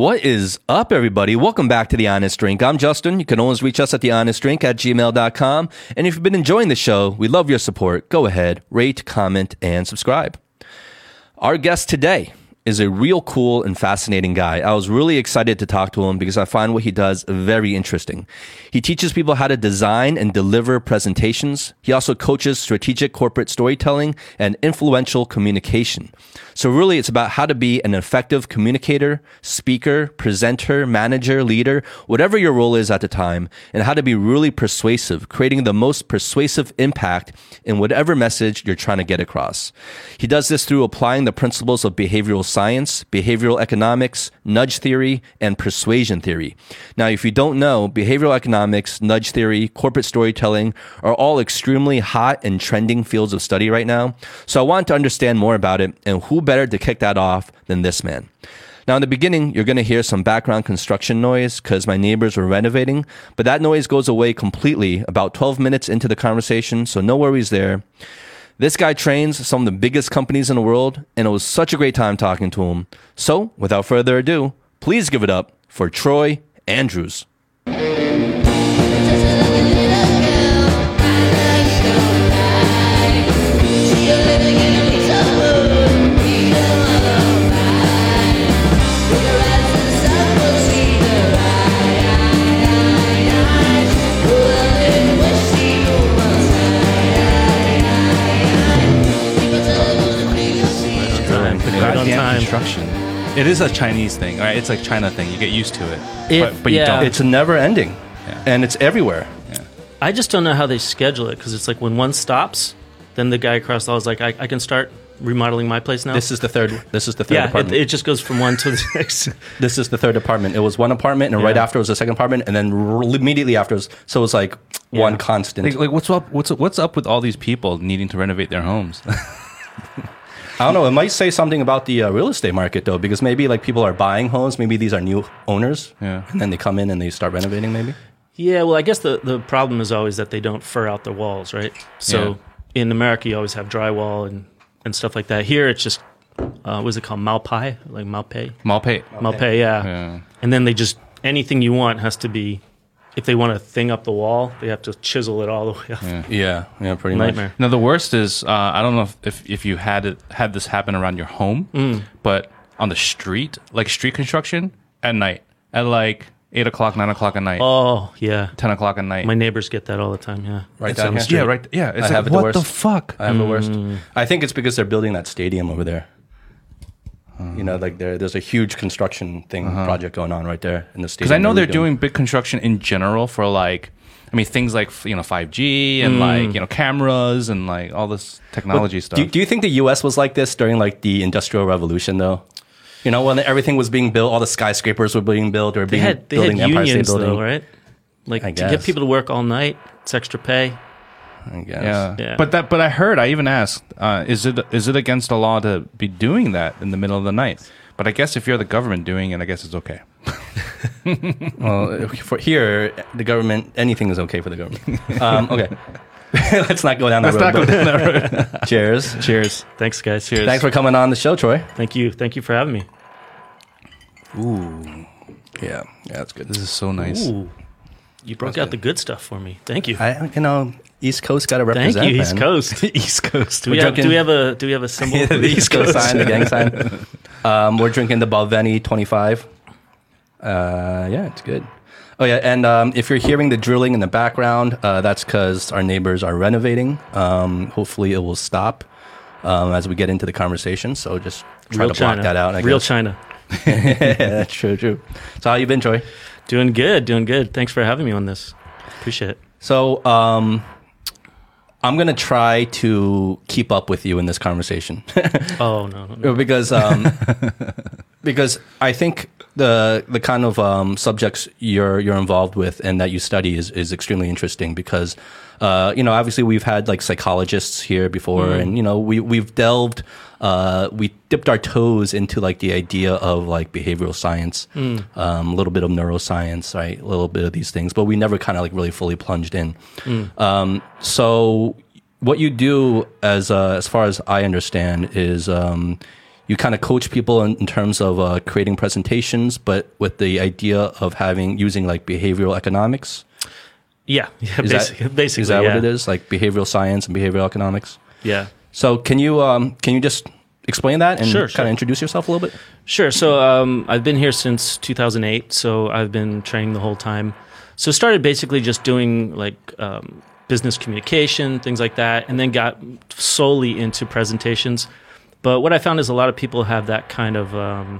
What is up, everybody? Welcome back to The Honest Drink. I'm Justin. You can always reach us at thehonestdrink@gmail.com. And if you've been enjoying the show, we love your support. Go ahead, rate, comment, and subscribe. Our guest today is a real cool and fascinating guy. I was really excited to talk to him because I find what he does very interesting. He teaches people how to design and deliver presentations. He also coaches strategic corporate storytelling and influential communication. So really, it's about how to be an effective communicator, speaker, presenter, manager, leader, whatever your role is at the time, and how to be really persuasive, creating the most persuasive impact in whatever message you're trying to get across. He does this through applying the principles of behavioral science, behavioral economics, nudge theory, and persuasion theory. Now, if you don't know, behavioral economics, nudge theory, corporate storytelling are all extremely hot and trending fields of study right now. So I want to understand more about it, and who better to kick that off than this man. Now, in the beginning, you're going to hear some background construction noise because my neighbors were renovating, but that noise goes away completely about 12 minutes into the conversation, so no worries there. This guy trains some of the biggest companies in the world, and it was such a great time talking to him. So, without further ado, please give it up for Troy Andrews. Construction. It is a Chinese thing, right? It's like China thing. You get used to it, but you don't. It's never ending, and it's everywhere. Yeah. I just don't know how they schedule it because it's like when one stops, then the guy across the hall is like, I can start remodeling my place now. This is the third apartment. It just goes from one to the next. This is the third apartment. It was one apartment, and right after it was the second apartment, and then immediately after, so it was like one constant. Like what's up with all these people needing to renovate their homes? I don't know. It might say something about the real estate market, though, because maybe like people are buying homes. Maybe these are new owners, and then they come in and they start renovating. Maybe. Yeah. Well, I guess the problem is always that they don't fur out the walls, right? So in America, you always have drywall and stuff like that. Here, it's just what is it called? Malpai, like Malpai. Malpai. Yeah. And then they just anything you want has to be. If they want to thing up the wall, they have to chisel it all the way up. Yeah, pretty Nightmare. Much. Now the worst is I don't know if you had this happen around your home, but on the street, like street construction at night, at like 8 o'clock, 9 o'clock at night. Oh yeah, 10 o'clock at night. My neighbors get that all the time. Yeah, right down the street. Yeah, right. Yeah, it's I have what the fuck? I have the worst. I think it's because they're building that stadium over there. You know, like there's a huge construction project going on right there in the stadium. Because I know they're doing big construction in general for like, I mean, things like 5G and like cameras and like all this technology stuff. Do you think the U.S. was like this during like the Industrial Revolution though? You know, when everything was being built, all the skyscrapers were being built or building had the Empire State unions Building, though, right? Like to get people to work all night, it's extra pay. I guess. Yeah. But I heard, I even asked, is it against the law to be doing that in the middle of the night? But I guess if you're the government doing it, I guess it's okay. Well, for here, the government, anything is okay for the government. Okay. Let's not go down that road. Cheers. Cheers. Thanks, guys. Cheers. Thanks for coming on the show, Troy. Thank you. Thank you for having me. Ooh. Yeah, that's good. This is so nice. Ooh. You broke out the good stuff for me. Thank you. East Coast got to represent. Thank you, man. East Coast. East Coast. Do we have a symbol? Yeah, the East Coast sign, the gang sign. We're drinking the Balvenie 25. Yeah, it's good. Oh yeah, and if you're hearing the drilling in the background, that's because our neighbors are renovating. Hopefully, it will stop as we get into the conversation. So just try to block that out. Real China. Yeah, true. So how you been, Troy? Doing good. Thanks for having me on this. Appreciate it. So I'm going to try to keep up with you in this conversation. Oh, no. Because I think the kind of subjects you're involved with and that you study is extremely interesting because obviously we've had like psychologists here before and we've delved we dipped our toes into like the idea of like behavioral science, a little bit of neuroscience, right? A little bit of these things, but we never kind of like really fully plunged in. So what you do as far as I understand is you kind of coach people in terms of creating presentations, but with the idea of using like behavioral economics. Yeah, basically. Is that what it is? Like behavioral science and behavioral economics? Yeah. So can you just explain that and Sure. kind of introduce yourself a little bit? Sure. So I've been here since 2008, so I've been training the whole time. So started basically just doing like business communication, things like that, and then got solely into presentations. But what I found is a lot of people have that kind of,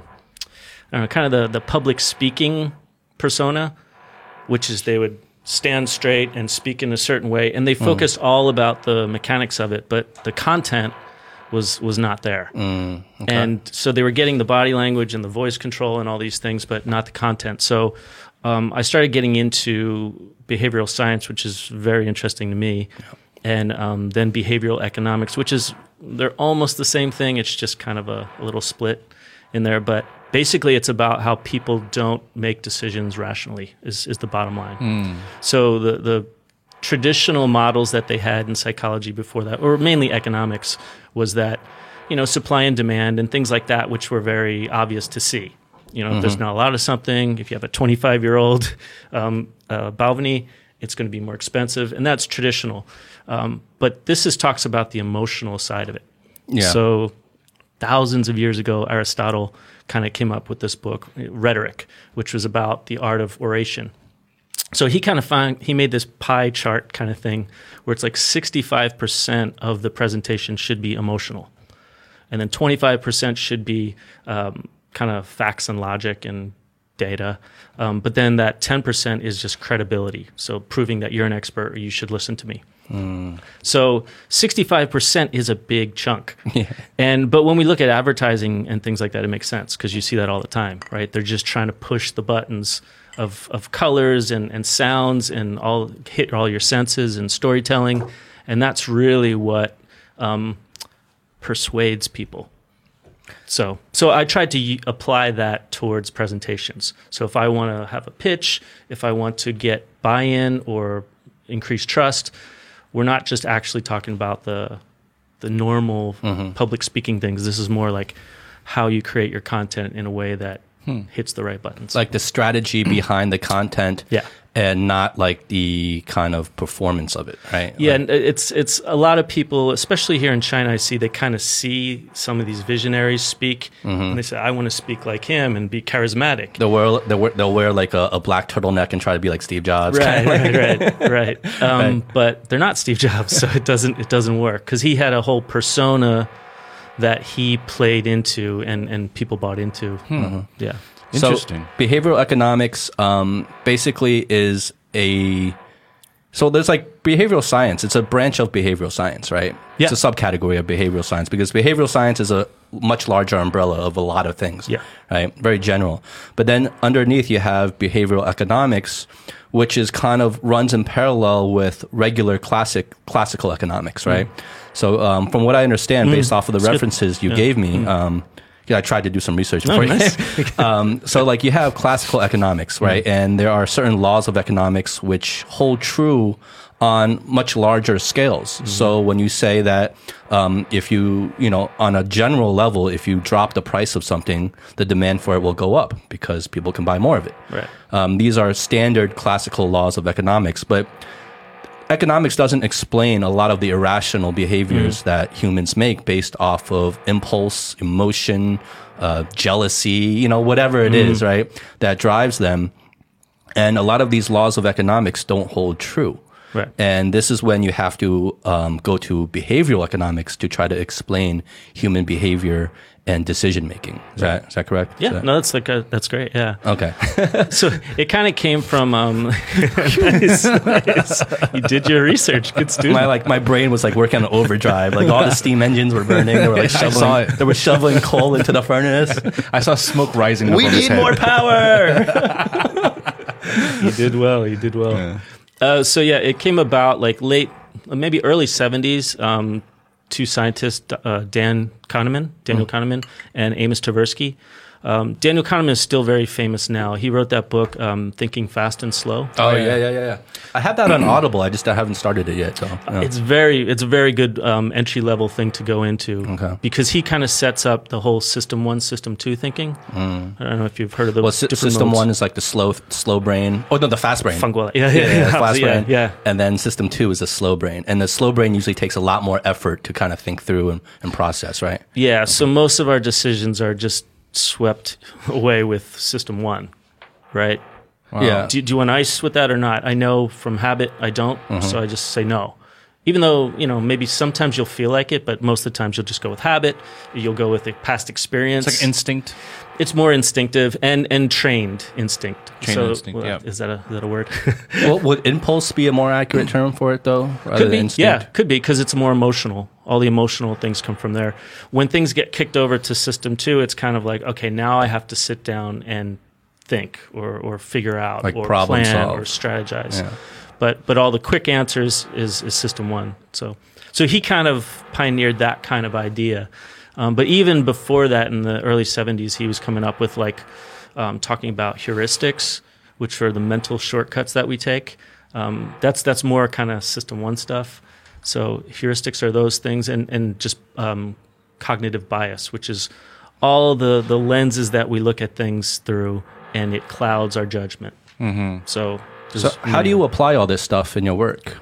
the public speaking persona, which is they would stand straight and speak in a certain way, and they focused all about the mechanics of it, but the content was not there. Okay. And so they were getting the body language and the voice control and all these things, but not the content. So I started getting into behavioral science, which is very interesting to me, and then behavioral economics, which is, they're almost the same thing. It's just kind of a little split in there, but basically it's about how people don't make decisions rationally is the bottom line. So the traditional models that they had in psychology before that, or mainly economics, was that, supply and demand and things like that, which were very obvious to see. If there's not a lot of something, if you have a 25-year-old Balvenie, it's going to be more expensive, and that's traditional. But this talks about the emotional side of it. Yeah. So thousands of years ago, Aristotle kind of came up with this book, Rhetoric, which was about the art of oration. So he made this pie chart kind of thing where it's like 65% of the presentation should be emotional, and then 25% should be kind of facts and logic and data. But then that 10% is just credibility. So proving that you're an expert or you should listen to me. So 65% is a big chunk. But when we look at advertising and things like that, it makes sense because you see that all the time, right? They're just trying to push the buttons of colors and sounds and hit all your senses and storytelling. And that's really what persuades people. So I tried to apply that towards presentations. So if I want to have a pitch, if I want to get buy-in or increase trust, we're not just actually talking about the normal public speaking things. This is more like how you create your content in a way that hits the right buttons. Like the strategy behind the content. Yeah. And not like the kind of performance of it, right? Yeah, and it's a lot of people, especially here in China, I see they kind of see some of these visionaries speak, and they say, I want to speak like him and be charismatic. They'll wear like a black turtleneck and try to be like Steve Jobs. Right. But they're not Steve Jobs, so it doesn't work because he had a whole persona that he played into and people bought into. Yeah. Interesting. So behavioral economics basically is so there's like behavioral science. It's a branch of behavioral science, right? Yeah. It's a subcategory of behavioral science because behavioral science is a much larger umbrella of a lot of things, right? Very general. But then underneath you have behavioral economics, which is kind of runs in parallel with regular classical economics, right? So from what I understand, based off of the references you gave me, I tried to do some research before. So like you have classical economics, right? And there are certain laws of economics which hold true on much larger scales. So when you say that if you on a general level, if you drop the price of something, the demand for it will go up because people can buy more of it. Right. These are standard classical laws of economics, but economics doesn't explain a lot of the irrational behaviors that humans make based off of impulse, emotion, jealousy, whatever it is, right, that drives them. And a lot of these laws of economics don't hold true. Right. And this is when you have to go to behavioral economics to try to explain human behavior and decision making. Is that correct? Yeah, that's great. Yeah. Okay. So it kind of came from nice. You did your research. Good student. My brain was like working on overdrive. Like all the steam engines were burning. They were like shoveling coal into the furnace. I saw smoke rising. We need more power. You did well. Yeah. So it came about like maybe early 70s. Two scientists, Daniel Kahneman, and Amos Tversky, Daniel Kahneman is still very famous now. He wrote that book, Thinking Fast and Slow. Oh, yeah. I have that on Audible. I haven't started it yet. So yeah. It's a very good entry level thing to go into, because he kind of sets up the whole System 1, System 2 thinking. I don't know if you've heard of those. Well, System modes. 1 is like the slow brain. Oh no, the fast brain. Funguela. Fast brain. Yeah. And then System 2 is the slow brain, and the slow brain usually takes a lot more effort to kind of think through and process, right? Yeah. So most of our decisions are just swept away with System 1, right? Wow. Yeah. Do you want ice with that or not? I know from habit I don't, so I just say no. Even though, maybe sometimes you'll feel like it, but most of the times you'll just go with habit. You'll go with a past experience. It's like instinct. It's more instinctive and trained instinct. Instinct, yeah. Is that a word? Well, would impulse be a more accurate term for it, though? Could be. Yeah, could be, because it's more emotional. All the emotional things come from there. When things get kicked over to System 2, it's kind of like, okay, now I have to sit down and think or figure out, like or problem plan solve, or strategize. Yeah. But all the quick answers is System 1. So he kind of pioneered that kind of idea. But even before that, in the early 70s, he was coming up with talking about heuristics, which are the mental shortcuts that we take. That's more kind of System 1 stuff. So heuristics are those things, and just cognitive bias, which is all the lenses that we look at things through, and it clouds our judgment. Mm-hmm. So how do you apply all this stuff in your work?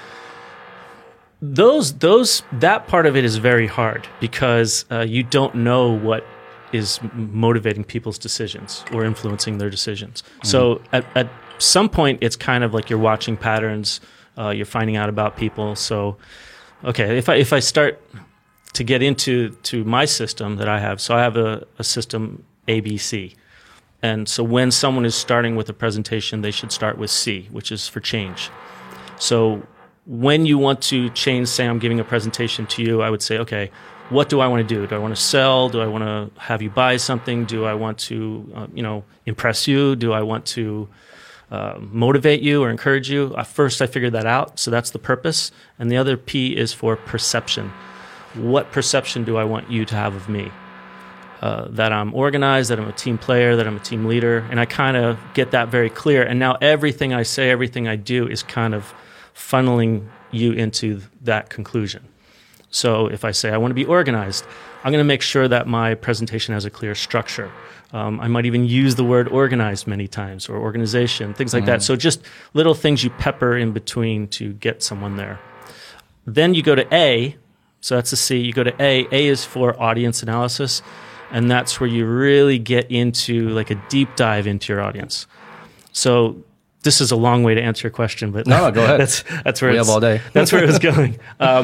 That part of it is very hard, because you don't know what is motivating people's decisions or influencing their decisions. Mm-hmm. So at some point, it's kind of like you're watching patterns, you're finding out about people. So, okay, if I start to get into my system that I have, so I have a system ABC. And so when someone is starting with a presentation, they should start with C, which is for change. So when you want to change, say I'm giving a presentation to you, I would say, okay, what do I want to do? Do I want to sell? Do I want to have you buy something? Do I want to, impress you? Do I want to motivate you or encourage you? First, I figured that out. So that's the purpose. And the other P is for perception. What perception do I want you to have of me? That I'm organized, that I'm a team player, that I'm a team leader. And I kind of get that very clear. And now everything I say, everything I do is kind of funneling you into that conclusion. So if I say I want to be organized, I'm going to make sure that my presentation has a clear structure. I might even use the word organized many times, or organization, things like that. So just little things you pepper in between to get someone there. Then you go to A. So that's the C. You go to A. A is for audience analysis. And that's where you really get into like a deep dive into your audience. So this is a long way to answer your question, but no, go ahead. That's where we have all day. That's where it was going.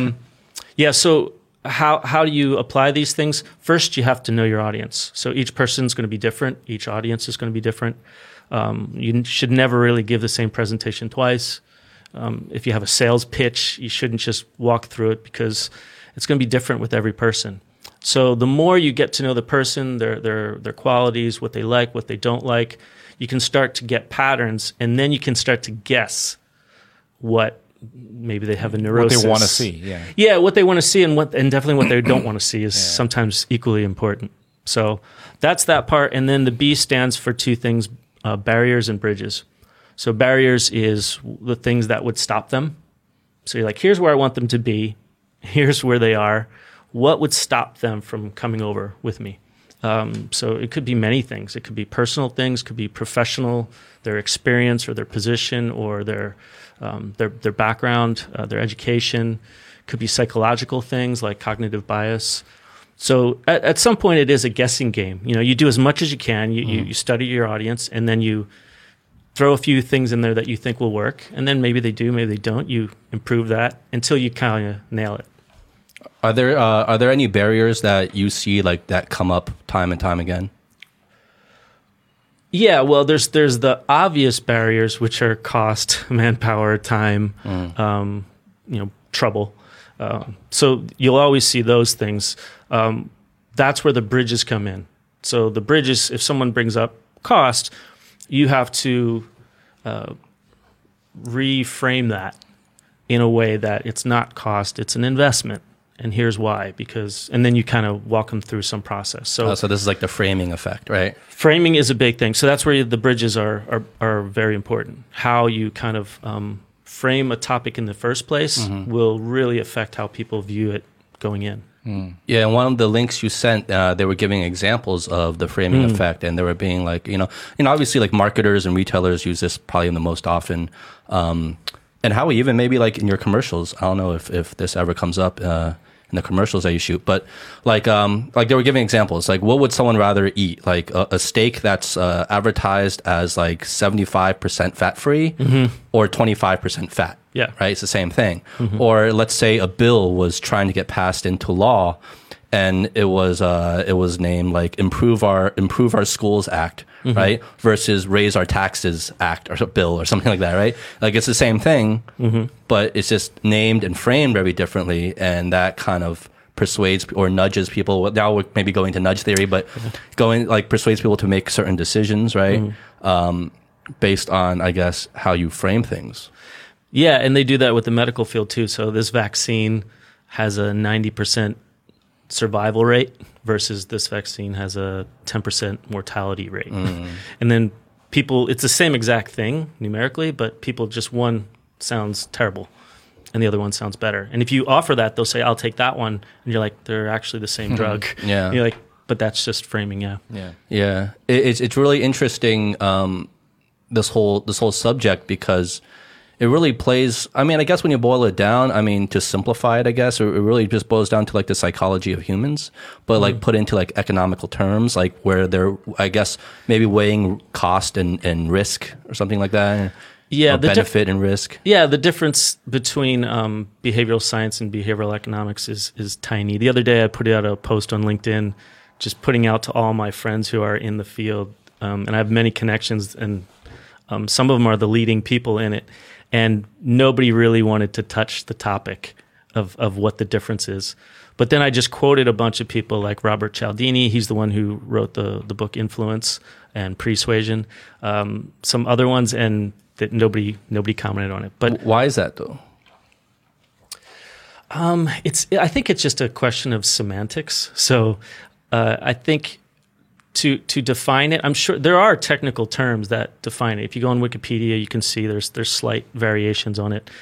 So how do you apply these things? First, you have to know your audience. So each person's going to be different. Each audience is going to be different. You should never really give the same presentation twice. If you have a sales pitch, you shouldn't just walk through it, because it's going to be different with every person. So the more you get to know the person, their qualities, what they like, what they don't like, you can start to get patterns, and then you can start to guess what maybe they have a neurosis. What they want to see, yeah, what they want to see, and definitely what they don't want to see is sometimes equally important. So that's that part, and then the B stands for two things: barriers and bridges. So barriers is the things that would stop them. So you're like, here's where I want them to be, here's where they are. What would stop them from coming over with me? So it could be many things. It could be personal things, could be professional, their experience or their position or their background, their education. Could be psychological things like cognitive bias. So at some point, it is a guessing game. You do as much as you can. You study your audience, and then you throw a few things in there that you think will work, and then maybe they do, maybe they don't. You improve that until you kind of nail it. Are there any barriers that you see that come up time and time again? Yeah, well, there's the obvious barriers, which are cost, manpower, time, trouble. So you'll always see those things. That's where the bridges come in. So the bridges, if someone brings up cost, you have to reframe that in a way that it's not cost, it's an investment. and here's why, and then you kind of walk them through some process. So this is like the framing effect, right? Framing is a big thing. So that's where the bridges are very important. How you kind of frame a topic in the first place will really affect how people view it going in. Yeah, and one of the links you sent, they were giving examples of the framing effect, and they were being like, obviously like marketers and retailers use this probably the most often. And how even maybe like in your commercials, I don't know if this ever comes up in the commercials that you shoot, but like they were giving examples, like what would someone rather eat? Like a steak that's advertised as like 75% fat free or 25% fat. Yeah. Right. It's the same thing. Or let's say a bill was trying to get passed into law, and it was named like Improve Our Schools Act, right? Versus Raise Our Taxes Act or bill or something like that, right? Like it's the same thing, but it's just named and framed very differently, and that kind of persuades or nudges people. Now we're maybe going to nudge theory, but persuades people to make certain decisions, right? Based on, I guess, how you frame things. Yeah, and they do that with the medical field too. So this vaccine has a 90% survival rate versus this vaccine has a 10% mortality rate. And then people, it's the same exact thing numerically, but people just, one sounds terrible and the other one sounds better. And if you offer that, they'll say, I'll take that one. And you're like, they're actually the same drug. Yeah. And you're like, but that's just framing. Yeah. It's really interesting, this whole subject, because it really plays, I mean, I guess when you boil it down, I mean, to simplify it, I guess, it really just boils down to like the psychology of humans, but like put into like economical terms, like where they're, I guess, maybe weighing cost and risk or something like that. Yeah. The benefit and risk. Yeah. The difference between behavioral science and behavioral economics is tiny. The other day I put out a post on LinkedIn, just putting out to all my friends who are in the field. And I have many connections, and some of them are the leading people in it. And nobody really wanted to touch the topic of what the difference is. But then I just quoted a bunch of people like Robert Cialdini. He's the one who wrote the book Influence and Persuasion. Some other ones, and that nobody commented on it. But why is that though? I think it's just a question of semantics. So I think to define it, I'm sure there are technical terms that define it. If you go on Wikipedia, you can see there's slight variations on it.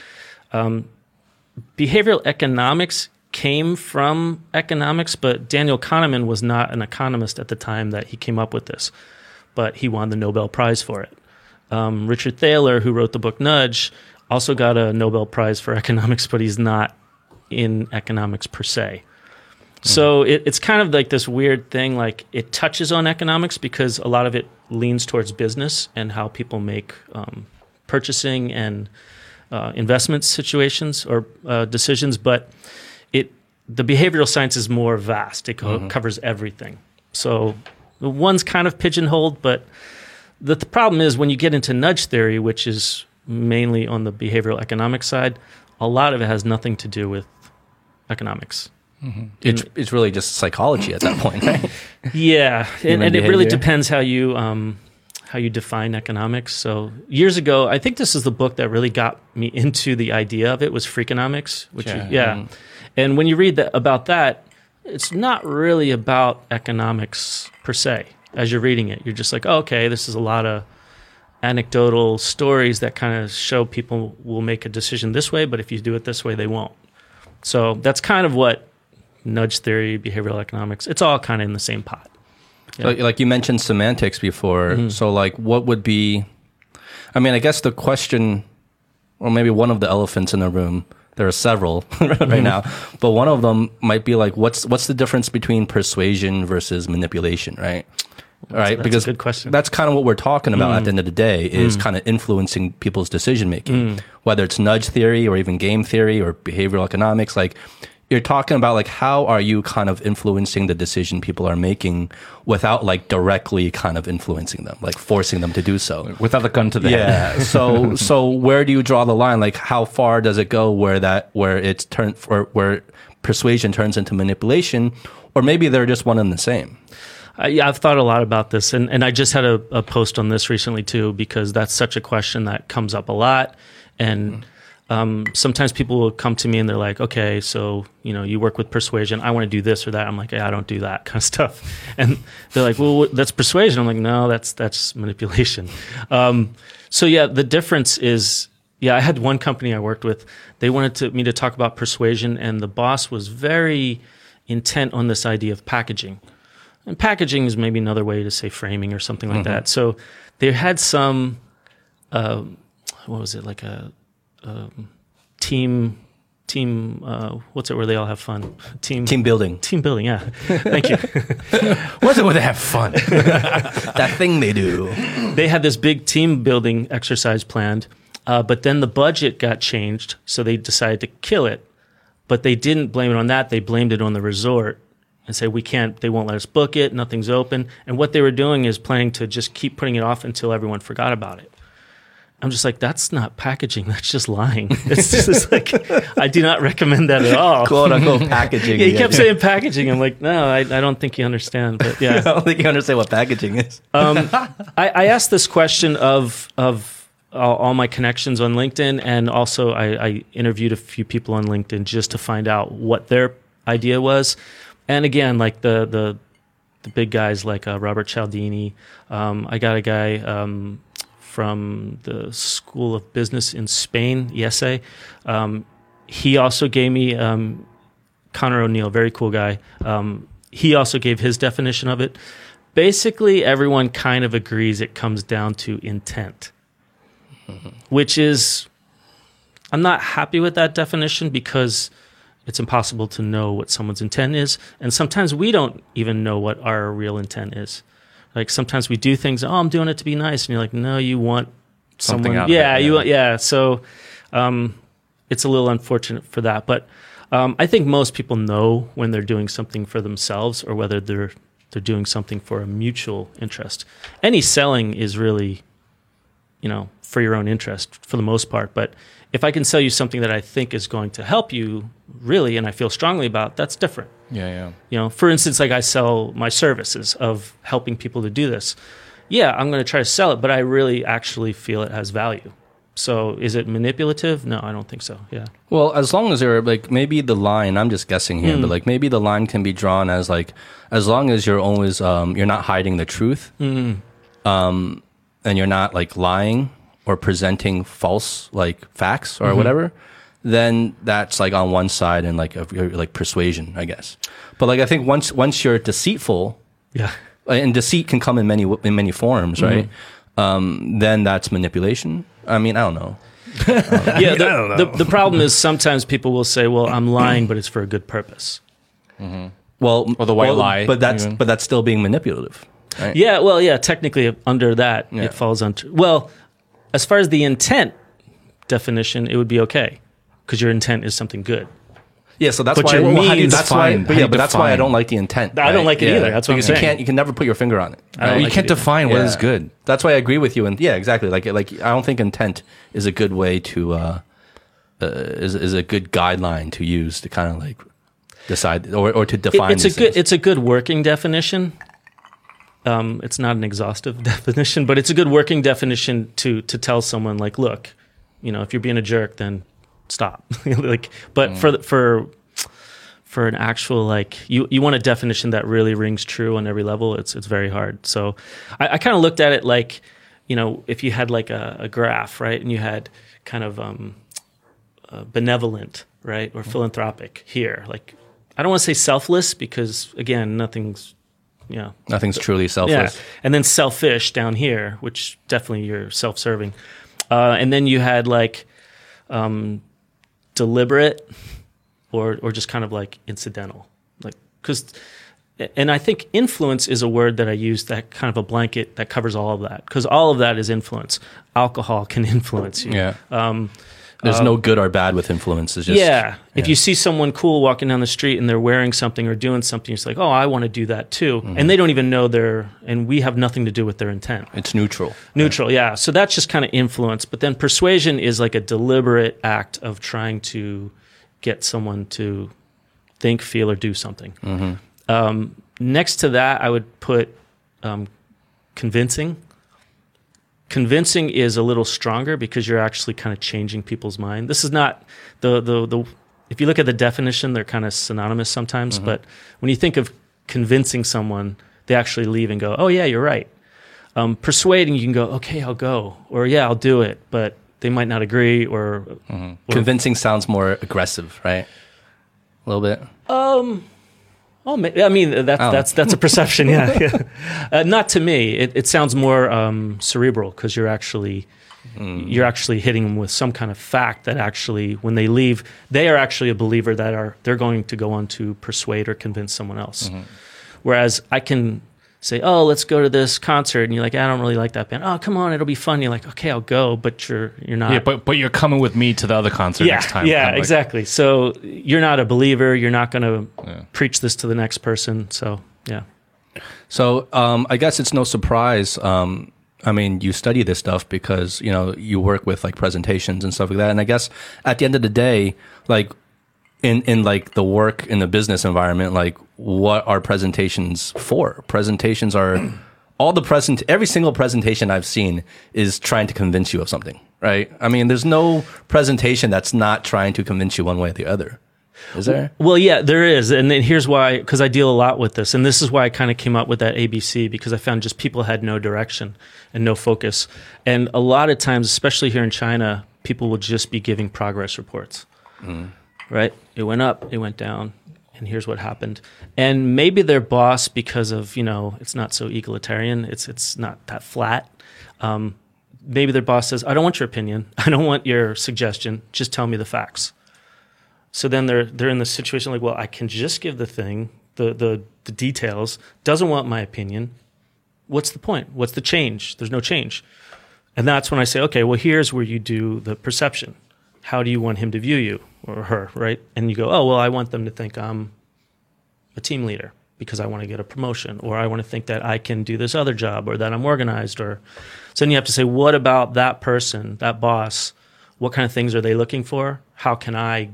Behavioral economics came from economics, but Daniel Kahneman was not an economist at the time that he came up with this, but he won the Nobel Prize for it. Richard Thaler, who wrote the book Nudge, also got a Nobel Prize for economics, but he's not in economics per se. So it's kind of like this weird thing, like it touches on economics because a lot of it leans towards business and how people make purchasing and investment situations or decisions, but the behavioral science is more vast. It covers everything. So the one's kind of pigeonholed, but the problem is when you get into nudge theory, which is mainly on the behavioral economics side, a lot of it has nothing to do with economics. It's really just psychology at that point, right? Yeah, and it really depends how you define economics. So years ago, I think this is the book that really got me into the idea of it, was Freakonomics, which and when you read about that, it's not really about economics per se. As you're reading it, you're just like, oh, okay, this is a lot of anecdotal stories that kind of show people will make a decision this way, but if you do it this way, they won't. So that's kind of what nudge theory, behavioral economics, it's all kind of in the same pot. Yeah. Like you mentioned semantics before. So like what would be, I mean, I guess the question, or maybe one of the elephants in the room, there are several right now, but one of them might be like, what's the difference between persuasion versus manipulation, right? Right, because a good question. That's kind of what we're talking about at the end of the day, is kind of influencing people's decision making, whether it's nudge theory or even game theory or behavioral economics. Like you're talking about like how are you kind of influencing the decision people are making without like directly kind of influencing them, like forcing them to do so without the gun to the head. So where do you draw the line? Like how far does it go where persuasion turns into manipulation, or maybe they're just one and the same? Yeah, I've thought a lot about this, and I just had a post on this recently too, because that's such a question that comes up a lot, and sometimes people will come to me and they're like, okay, so, you work with persuasion. I want to do this or that. I'm like, I don't do that kind of stuff. And they're like, well, that's persuasion. I'm like, no, that's manipulation. So yeah, the difference is, I had one company I worked with. They wanted me to talk about persuasion, and the boss was very intent on this idea of packaging. And packaging is maybe another way to say framing or something like that. So they had some, what was it, like a team, what's it where they all have fun? Team building. Team building, yeah. Thank you. What's it where they have fun? That thing they do. They had this big team building exercise planned, but then the budget got changed, so they decided to kill it. But they didn't blame it on that. They blamed it on the resort and say, they won't let us book it, nothing's open. And what they were doing is planning to just keep putting it off until everyone forgot about it. I'm just like, that's not packaging, that's just lying. It's just like, I do not recommend that at all. Quote unquote packaging. Yeah, he kept saying packaging. I'm like, no, I don't think you understand. But yeah. I don't think you understand what packaging is. I asked this question of all my connections on LinkedIn, and also I interviewed a few people on LinkedIn just to find out what their idea was. And again, like the big guys like Robert Cialdini. I got a guy from the School of Business in Spain, ESA. He also gave me Connor O'Neill, very cool guy. He also gave his definition of it. Basically, everyone kind of agrees it comes down to intent, which is, I'm not happy with that definition because it's impossible to know what someone's intent is. And sometimes we don't even know what our real intent is. Like sometimes we do things, I'm doing it to be nice. And you're like, no, you want something someone. Out Yeah, of it, you want, yeah. So it's a little unfortunate for that. But I think most people know when they're doing something for themselves or whether they're doing something for a mutual interest. Any selling is really, for your own interest for the most part. But if I can sell you something that I think is going to help you really, and I feel strongly about, that's different. Yeah. For instance, like I sell my services of helping people to do this. Yeah, I'm going to try to sell it, but I really actually feel it has value. So is it manipulative? No, I don't think so. Yeah. Well, as long as they're like, maybe the line, I'm just guessing here, but like maybe the line can be drawn as like, as long as you're always, you're not hiding the truth, and you're not like lying or presenting false like facts or whatever, then that's like on one side and like like persuasion, I guess. But like I think once you're deceitful, and deceit can come in many forms, right? Then that's manipulation. I mean, I don't know. The problem is sometimes people will say, "Well, I'm lying, but it's for a good purpose." Well, or the white lie, but that's still being manipulative. Right? Yeah, well, yeah, technically under that it falls under. Well, as far as the intent definition, it would be okay because your intent is something good. Yeah, so that's but why. That's why I don't like the intent. I don't like it either. That's what I'm saying. You can never put your finger on it. Right? You can't define what is good. That's why I agree with you. And yeah, exactly. Like I don't think intent is a good way to is a good guideline to use to kind of like decide or to define. It's a good working definition. It's not an exhaustive definition, but it's a good working definition to tell someone like, look, if you're being a jerk, then stop. But for an actual like you want a definition that really rings true on every level. It's very hard. So I kind of looked at it like, if you had like a graph, right, and you had kind of benevolent, right, or philanthropic here. Like I don't want to say selfless because again, nothing's truly selfless. Yeah. And then selfish down here, which definitely you're self-serving. And then you had like deliberate or just kind of like incidental. And I think influence is a word that I use that kind of a blanket that covers all of that because all of that is influence. Alcohol can influence you. Yeah. There's no good or bad with influence. It's just, If you see someone cool walking down the street and they're wearing something or doing something, it's like, oh, I want to do that too. And they don't even know and we have nothing to do with their intent. It's neutral. Neutral, yeah. So that's just kind of influence. But then persuasion is like a deliberate act of trying to get someone to think, feel, or do something. Next to that, I would put convincing. Convincing is a little stronger because you're actually kind of changing people's mind. This is not the if you look at the definition, they're kind of synonymous sometimes. But when you think of convincing someone, they actually leave and go, "Oh yeah, you're right." Persuading, you can go, "Okay, I'll go," or "Yeah, I'll do it," but they might not agree. Or convincing sounds more aggressive, right? A little bit. Oh, I mean that's a perception. Yeah, not to me. It sounds more cerebral because you're actually hitting them with some kind of fact that actually, when they leave, they are actually a believer that they're going to go on to persuade or convince someone else. Whereas I can say, "Oh, let's go to this concert," and you're like, "I don't really like that band." "Oh, come on, it'll be fun." You're like, "Okay, I'll go," but you're not. Yeah, but you're coming with me to the other concert next time. Yeah, exactly. So you're not a believer. You're not going to preach this to the next person. So yeah. So I guess it's no surprise. I mean, you study this stuff because you work with like presentations and stuff like that. And I guess at the end of the day, like in like the work in the business environment, like what are presentations for? Presentations are every single presentation I've seen is trying to convince you of something, right? I mean, there's no presentation that's not trying to convince you one way or the other. Is there? Well, yeah, there is. And then here's why, because I deal a lot with this. And this is why I kind of came up with that ABC, because I found just people had no direction and no focus. And a lot of times, especially here in China, people will just be giving progress reports, right? It went up, it went down, and here's what happened. And maybe their boss, because of, it's not so egalitarian, it's not that flat. Maybe their boss says, "I don't want your opinion. I don't want your suggestion. Just tell me the facts." So then they're in the situation like, well, I can just give the thing, the details, doesn't want my opinion. What's the point? What's the change? There's no change. And that's when I say, okay, well, here's where you do the perception. How do you want him to view you or her, right? And you go, oh, well, I want them to think I'm a team leader because I want to get a promotion, or I want to think that I can do this other job, or that I'm organized. Or so then you have to say, what about that person, that boss? What kind of things are they looking for? How can I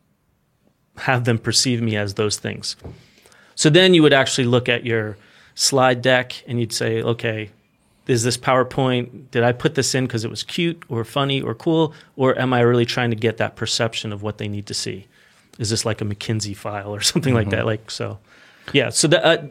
have them perceive me as those things? So then you would actually look at your slide deck and you'd say, okay, is this PowerPoint, did I put this in because it was cute or funny or cool, or am I really trying to get that perception of what they need to see? Is this like a McKinsey file or something like that? Like, so, yeah. So that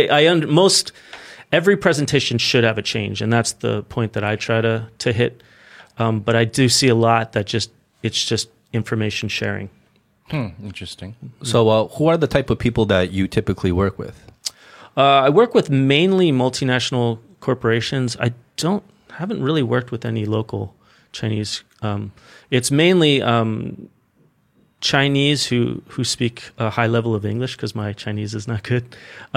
every presentation should have a change, and that's the point that I try to hit. But I do see a lot that it's just information sharing. Interesting. So who are the type of people that you typically work with? I work with mainly multinational corporations. I haven't really worked with any local Chinese. It's mainly Chinese who speak a high level of English, because my Chinese is not good,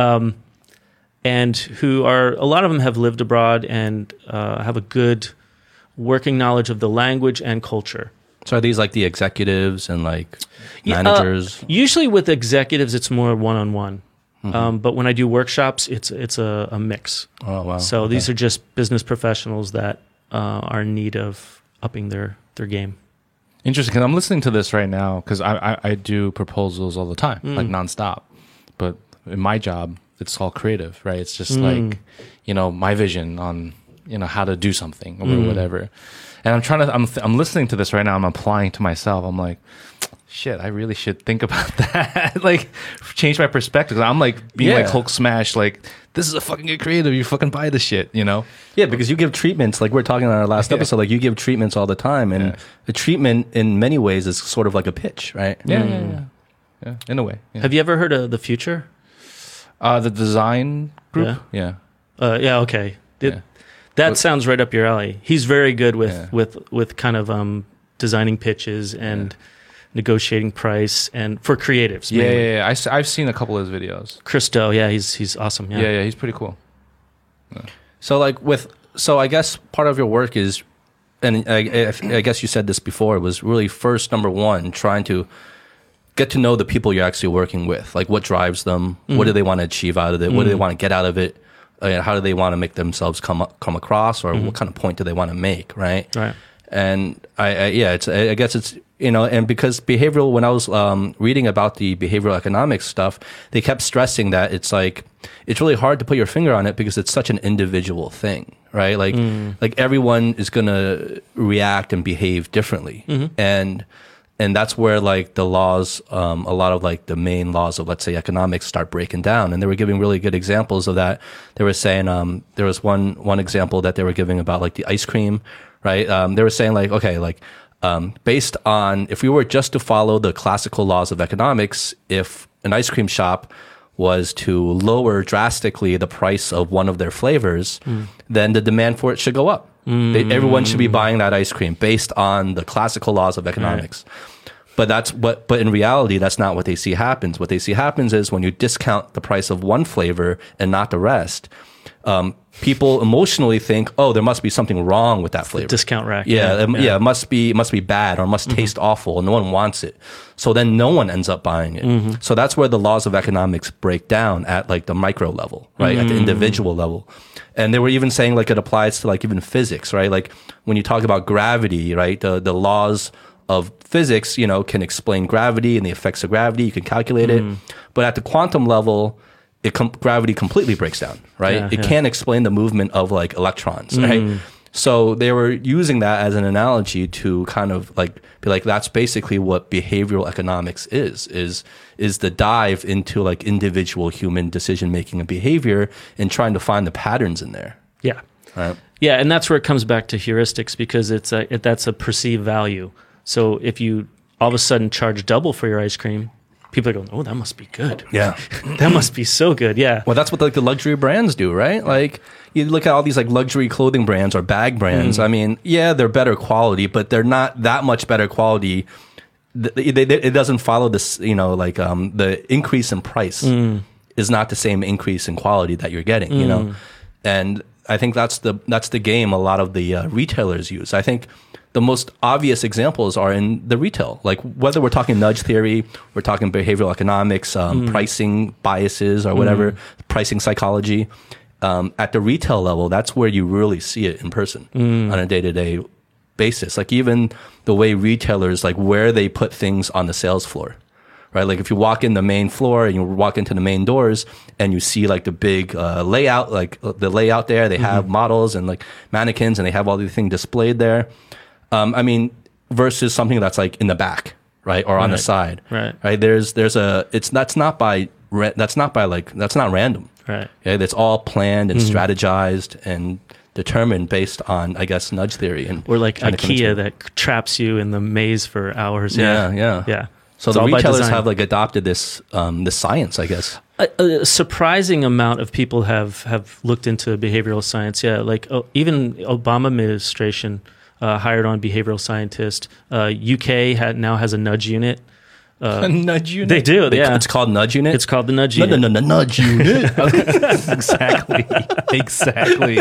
and who a lot of them have lived abroad and have a good working knowledge of the language and culture. So are these like the executives and like managers? Usually with executives, it's more one-on-one. But when I do workshops, it's a mix. Oh, wow. So these are just business professionals that are in need of upping their game. Interesting, because I'm listening to this right now, because I do proposals all the time, like nonstop. But in my job, it's all creative, right? It's just like, my vision on, how to do something or whatever. And I'm listening to this right now. I'm applying to myself. I'm like, shit, I really should think about that. Like, change my perspective. I'm like being like Hulk smash. Like, this is a fucking good creative. You fucking buy this shit, Yeah, because you give treatments. Like we we're talking on our last episode. Like you give treatments all the time, and the treatment in many ways is sort of like a pitch, right? Yeah. In a way. Yeah. Have you ever heard of The Future? The design group. Yeah. Okay. That sounds right up your alley. He's very good with kind of designing pitches and negotiating price, and for creatives. Yeah. I've seen a couple of his videos. Christo, he's awesome. Yeah, he's pretty cool. Yeah. So I guess part of your work is, and I guess you said this before, it was really first, number one, trying to get to know the people you're actually working with. Like what drives them, what do they want to achieve out of it, what do they want to get out of it. How do they want to make themselves come across, or what kind of point do they want to make, right? Right. And I guess it's, and because behavioral, when I was reading about the behavioral economics stuff, they kept stressing that it's really hard to put your finger on it because it's such an individual thing, right? Like everyone is going to react and behave differently. And that's where like the laws, a lot of like the main laws of, let's say, economics start breaking down. And they were giving really good examples of that. They were saying, there was one example that they were giving about like the ice cream, right? They were saying like, okay, like, based on, if we were just to follow the classical laws of economics, if an ice cream shop was to lower drastically the price of one of their flavors, then the demand for it should go up. Everyone should be buying that ice cream based on the classical laws of economics. Right. But in reality, that's not what they see happens. What they see happens is when you discount the price of one flavor and not the rest, people emotionally think, oh, there must be something wrong with that flavor. Discount rack. It must be bad or must taste awful and no one wants it. So then no one ends up buying it. So that's where the laws of economics break down at like the micro level, right? At the individual level. And they were even saying like it applies to like even physics, right? Like when you talk about gravity, right? The laws of physics, can explain gravity and the effects of gravity. You can calculate it. But at the quantum level, gravity completely breaks down, right? It can't explain the movement of like electrons, right? So they were using that as an analogy to kind of like be like, that's basically what behavioral economics is the dive into like individual human decision making and behavior and trying to find the patterns in there. Yeah. Right. Yeah, and that's where it comes back to heuristics because that's a perceived value. So if you all of a sudden charge double for your ice cream, people are going, oh, that must be good. Yeah. That must be so good. Yeah. Well, that's what like the luxury brands do, right? Like you look at all these like luxury clothing brands or bag brands. I mean, yeah, they're better quality, but they're not that much better quality. It doesn't follow this, the increase in price is not the same increase in quality that you're getting, And I think that's the game a lot of the retailers use. I think the most obvious examples are in the retail, like whether we're talking nudge theory, we're talking behavioral economics, pricing biases or whatever, pricing psychology. At the retail level, that's where you really see it in person on a day-to-day basis. Like even the way retailers, like where they put things on the sales floor, right? Like if you walk in the main floor and you walk into the main doors and you see like the big layout, like the layout there, they have models and like mannequins and they have all these things displayed there. Versus something that's like in the back, right, or on the side, right. That's not random, right? Okay? That's all planned and strategized and determined based on, I guess, nudge theory or like IKEA that traps you in the maze for hours. Yeah. So the retailers have like adopted this science, I guess. A surprising amount of people have looked into behavioral science. Yeah, like even Obama administration. Hired on behavioral scientist. UK now has a nudge unit. A nudge unit? They do, yeah. It's called Nudge Unit? It's called the Nudge Unit. No, Nudge Unit. Exactly.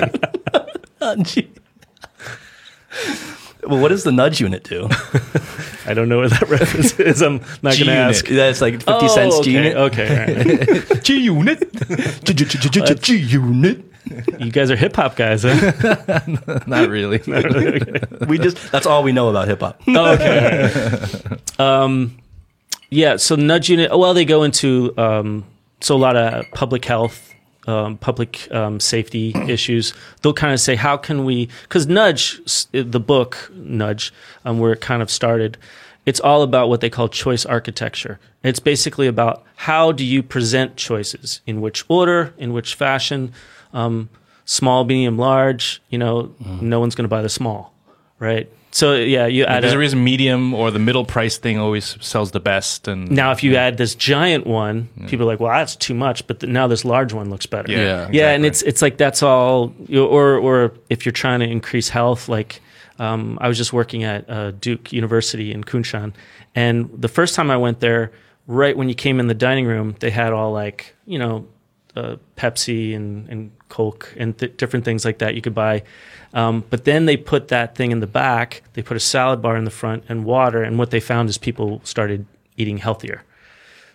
Well, what does the Nudge Unit do? I don't know what that reference is. I'm not going to ask. Yeah, it's like 50 cents okay. G-Unit. Okay, right. G-Unit. G-Unit. You guys are hip hop guys, huh? Not really. Okay. That's all we know about hip hop. Oh, okay. Yeah. So Nudge Unit. Well, they go into so a lot of public health, public safety issues. They'll kind of say, how can we? Because Nudge, the book Nudge, where it kind of started, it's all about what they call choice architecture. It's basically about how do you present choices, in which order, in which fashion. Small, medium, large, no one's going to buy the small, right? So yeah, you add there's a reason medium or the middle price thing always sells the best. And now if you add this giant one, people are like, well, that's too much, but now this large one looks better. Yeah, exactly. And it's like that's all. Or if you're trying to increase health, like I was just working at Duke University in Kunshan, and the first time I went there, right when you came in the dining room, they had all like Pepsi and Coke and different things like that you could buy. But then they put that thing in the back. They put a salad bar in the front and water. And what they found is people started eating healthier.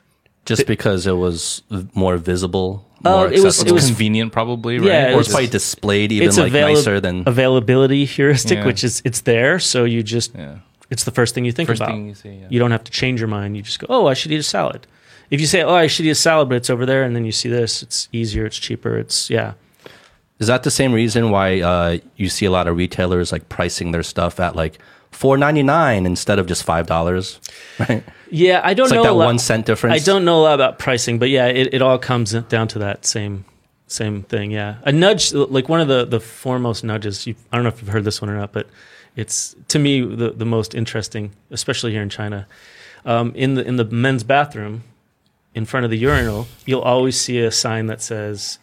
Just because it was more visible, it was convenient, probably, right? Yeah, or it's probably displayed even like nicer than availability heuristic, which is it's there, so you just it's the first thing you think about. Thing you see, You don't have to change your mind. You just go, oh, I should eat a salad. If you say, oh, I should eat a salad, but it's over there, and then you see this, it's easier, it's cheaper, it's Is that the same reason why you see a lot of retailers like pricing their stuff at like $4.99 instead of just $5? Right? Yeah, I don't it's know. Like that 1 cent difference. I don't know a lot about pricing, but yeah, it all comes down to that same thing. Yeah, a nudge, like one of the foremost nudges. I don't know if you've heard this one or not, but it's to me the most interesting, especially here in China. In the men's bathroom, in front of the urinal, you'll always see a sign that says.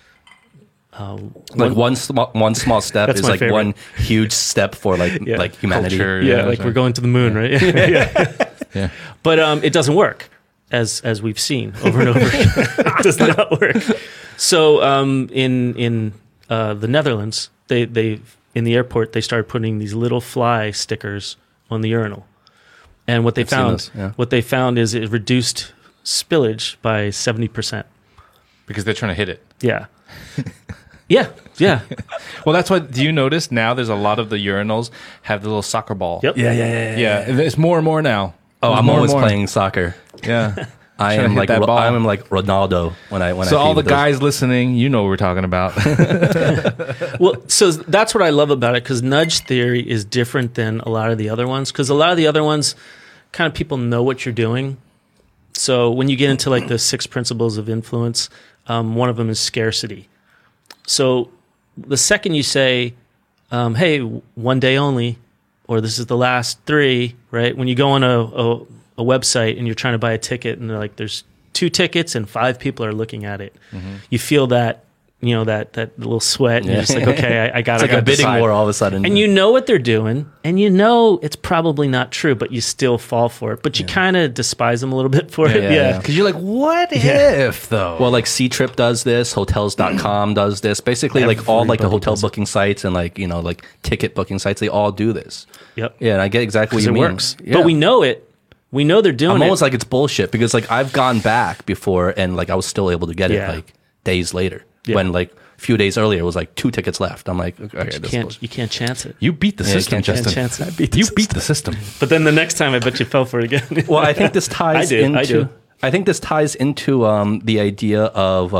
Like one small step is like favorite. One huge step for like humanity. Culture, like we're going to the moon, right? Yeah. But it doesn't work, as we've seen over and over. It does not work. So in the Netherlands, they in the airport they started putting these little fly stickers on the urinal, and what they found is it reduced spillage by 70%. Because they're trying to hit it. Yeah. Yeah. Well, that's why. Do you notice now? There's a lot of the urinals have the little soccer ball. Yep. Yeah. It's more and more now. Oh, I'm always playing soccer. Yeah. I am like Ronaldo when I. So all the guys listening, you know what we're talking about. Well, so that's what I love about it, because nudge theory is different than a lot of the other ones. Because a lot of the other ones, kind of people know what you're doing. So when you get into like the 6 principles of influence, one of them is scarcity. So the second you say, hey, one day only, or this is the last 3, right? When you go on a website and you're trying to buy a ticket and they're like, there's 2 tickets and 5 people are looking at it. Mm-hmm. You feel that, that little sweat, and you're just like, okay, I got it. It's like a bidding war all of a sudden. And you know what they're doing, and you know it's probably not true, but you still fall for it. But you kind of despise them a little bit for it. Yeah. Because you're like, what if, though? Well, like C-Trip does this, Hotels.com does this. Basically, like all like the hotel booking sites and like, like ticket booking sites, they all do this. Yep. Yeah, and I get exactly what you mean. It works. Yeah. But we know it. We know they're doing it. I'm almost like it's bullshit, because like I've gone back before and like I was still able to get it like days later when like a few days earlier it was like 2 tickets left. I'm like, okay, you can't chance it. You beat the system, Justin. You can't chance it. You beat the system. But then the next time I bet you fell for it again. Well, I think this ties I think this ties into the idea of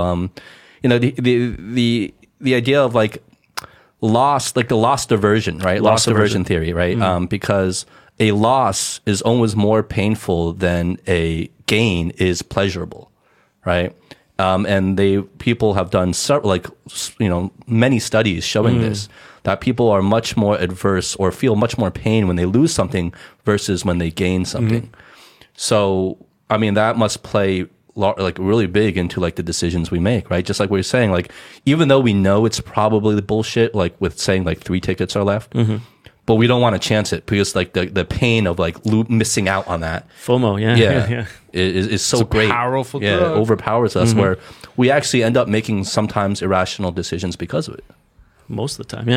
the idea of like the loss diversion, right? Loss diversion theory, right? Mm. Because a loss is always more painful than a gain is pleasurable, right? And people have done many studies showing this, that people are much more adverse or feel much more pain when they lose something versus when they gain something. Mm-hmm. So, I mean, that must play like really big into like the decisions we make, right? Just like we were saying, like even though we know it's probably the bullshit, like with saying like 3 tickets are left, but we don't want to chance it because like the pain of like missing out on that FOMO, is so great, powerful, it overpowers us, where we actually end up making sometimes irrational decisions because of it. Most of the time,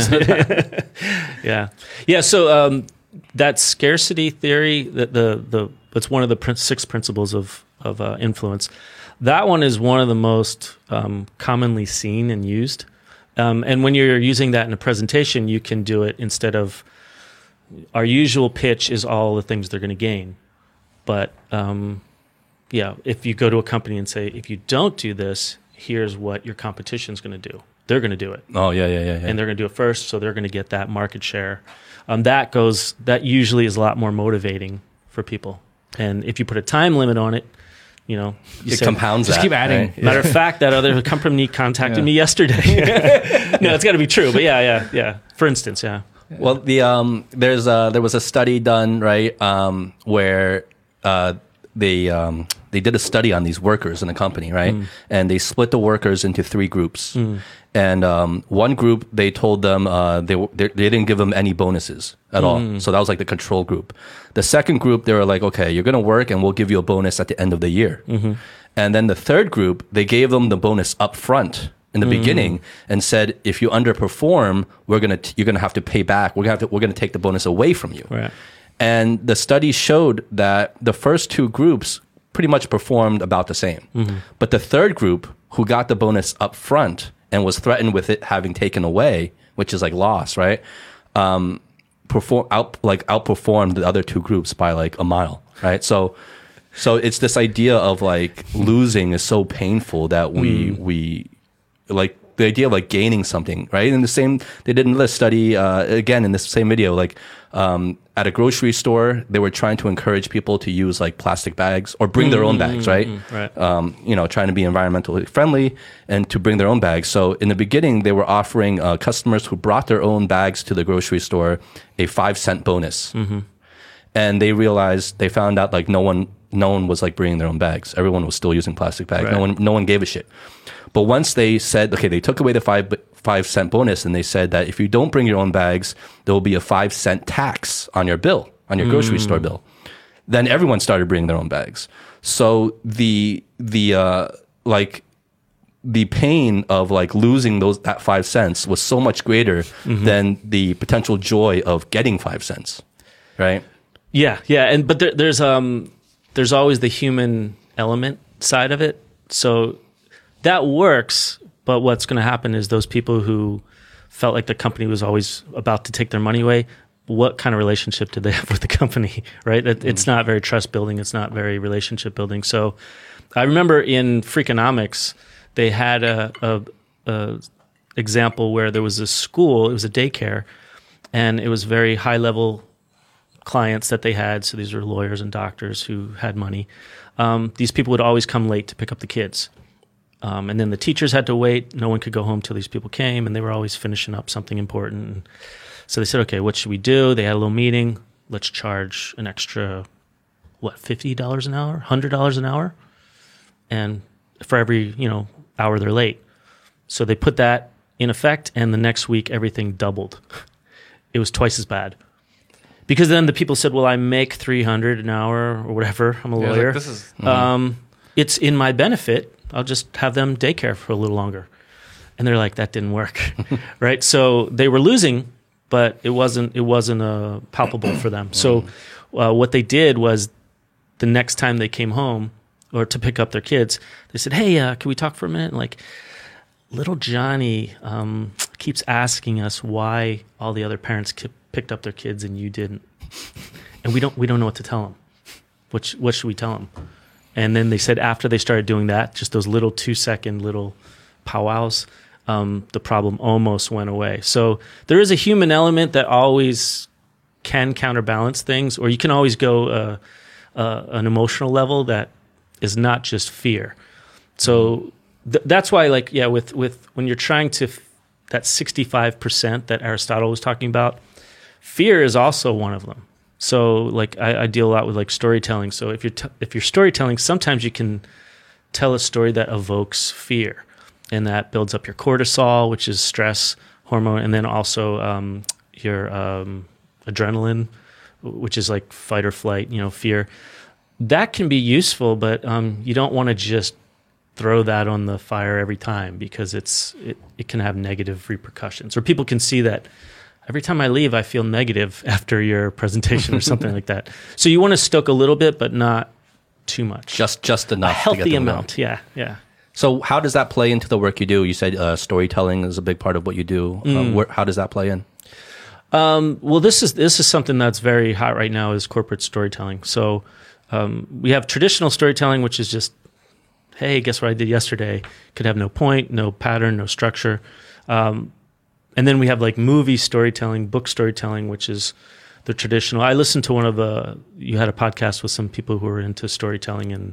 yeah. So that scarcity theory, that it's one of the 6 principles of influence. That one is one of the most commonly seen and used. And when you're using that in a presentation, you can do it instead of our usual pitch is all the things they're going to gain. But if you go to a company and say, if you don't do this, here's what your competition's going to do. They're going to do it. Oh, yeah. And they're going to do it first, so they're going to get that market share. That usually is a lot more motivating for people. And if you put a time limit on it, it compounds. Just keep adding. Right? Matter of fact, that other company contacted me yesterday. No, it's got to be true. But yeah. For instance, yeah. Well, there was a study done, right, where they did a study on these workers in a company, right, and they split the workers into 3 groups. And one group, they told them they didn't give them any bonuses at all. So that was like the control group. The second group, they were like, okay, you're going to work and we'll give you a bonus at the end of the year. And then the third group, they gave them the bonus up front in the beginning and said, if you underperform, you're going to have to pay back. We're going to take the bonus away from you. Right. And the study showed that the first 2 groups pretty much performed about the same. But the third group who got the bonus up front and was threatened with it having taken away, which is like loss, right? Outperformed the other two groups by like a mile, right? So it's this idea of like losing is so painful that we like the idea of like gaining something, right? And they did a study again in this same video, like at a grocery store, they were trying to encourage people to use like plastic bags or bring their own bags, right? Right. Trying to be environmentally friendly and to bring their own bags. So in the beginning, they were offering customers who brought their own bags to the grocery store a 5-cent bonus. And they found out like no one was like bringing their own bags. Everyone was still using plastic bags. Right. No one gave a shit. But once they said, okay, they took away the 5-cent bonus, and they said that if you don't bring your own bags, there will be a 5-cent tax on your bill, on your grocery store bill. Then everyone started bringing their own bags. So the pain of like losing that 5 cents was so much greater than the potential joy of getting 5 cents, right? Yeah, but there's always the human element side of it. So that works, but what's going to happen is those people who felt like the company was always about to take their money away, what kind of relationship did they have with the company, right? It's not very trust building. It's not very relationship building. So I remember in Freakonomics, they had a example where there was a school, it was a daycare, and it was very high level clients that they had. So these were lawyers and doctors who had money. These people would always come late to pick up the kids. And then the teachers had to wait. No one could go home till these people came, and they were always finishing up something important. So they said, okay, what should we do? They had a little meeting. Let's charge an extra, $50 an hour, $100 an hour? And for every, hour they're late. So they put that in effect, and the next week everything doubled. It was twice as bad. Because then the people said, well, I make $300 an hour or whatever. I'm a lawyer. Like, this is, it's in my benefit. I'll just have them daycare for a little longer. And they're like, that didn't work, right? So they were losing, but it wasn't palpable for them. So what they did was the next time they came home or to pick up their kids, they said, hey, can we talk for a minute? And like, little Johnny keeps asking us why all the other parents picked up their kids and you didn't. And we don't know what to tell them. What should we tell them? And then they said after they started doing that, just those little 2-second little powwows, the problem almost went away. So there is a human element that always can counterbalance things, or you can always go an emotional level that is not just fear. So that's why, like, with when you're trying to that 65% that Aristotle was talking about, fear is also one of them. So like I deal a lot with like storytelling. So if you're storytelling, sometimes you can tell a story that evokes fear, and that builds up your cortisol, which is stress hormone, and then also your adrenaline, which is like fight or flight, fear. That can be useful, but you don't want to just throw that on the fire every time, because it can have negative repercussions, or people can see that. Every time I leave, I feel negative after your presentation or something like that. So you want to stoke a little bit, but not too much. Just enough. A healthy to get them amount. going. Yeah. So how does that play into the work you do? You said storytelling is a big part of what you do. How does that play in? Well, this is something that's very hot right now, is corporate storytelling. So we have traditional storytelling, which is just, hey, guess what I did yesterday? Could have no point, no pattern, no structure. And then we have like movie storytelling, book storytelling, which is the traditional. I listened to you had a podcast with some people who were into storytelling and.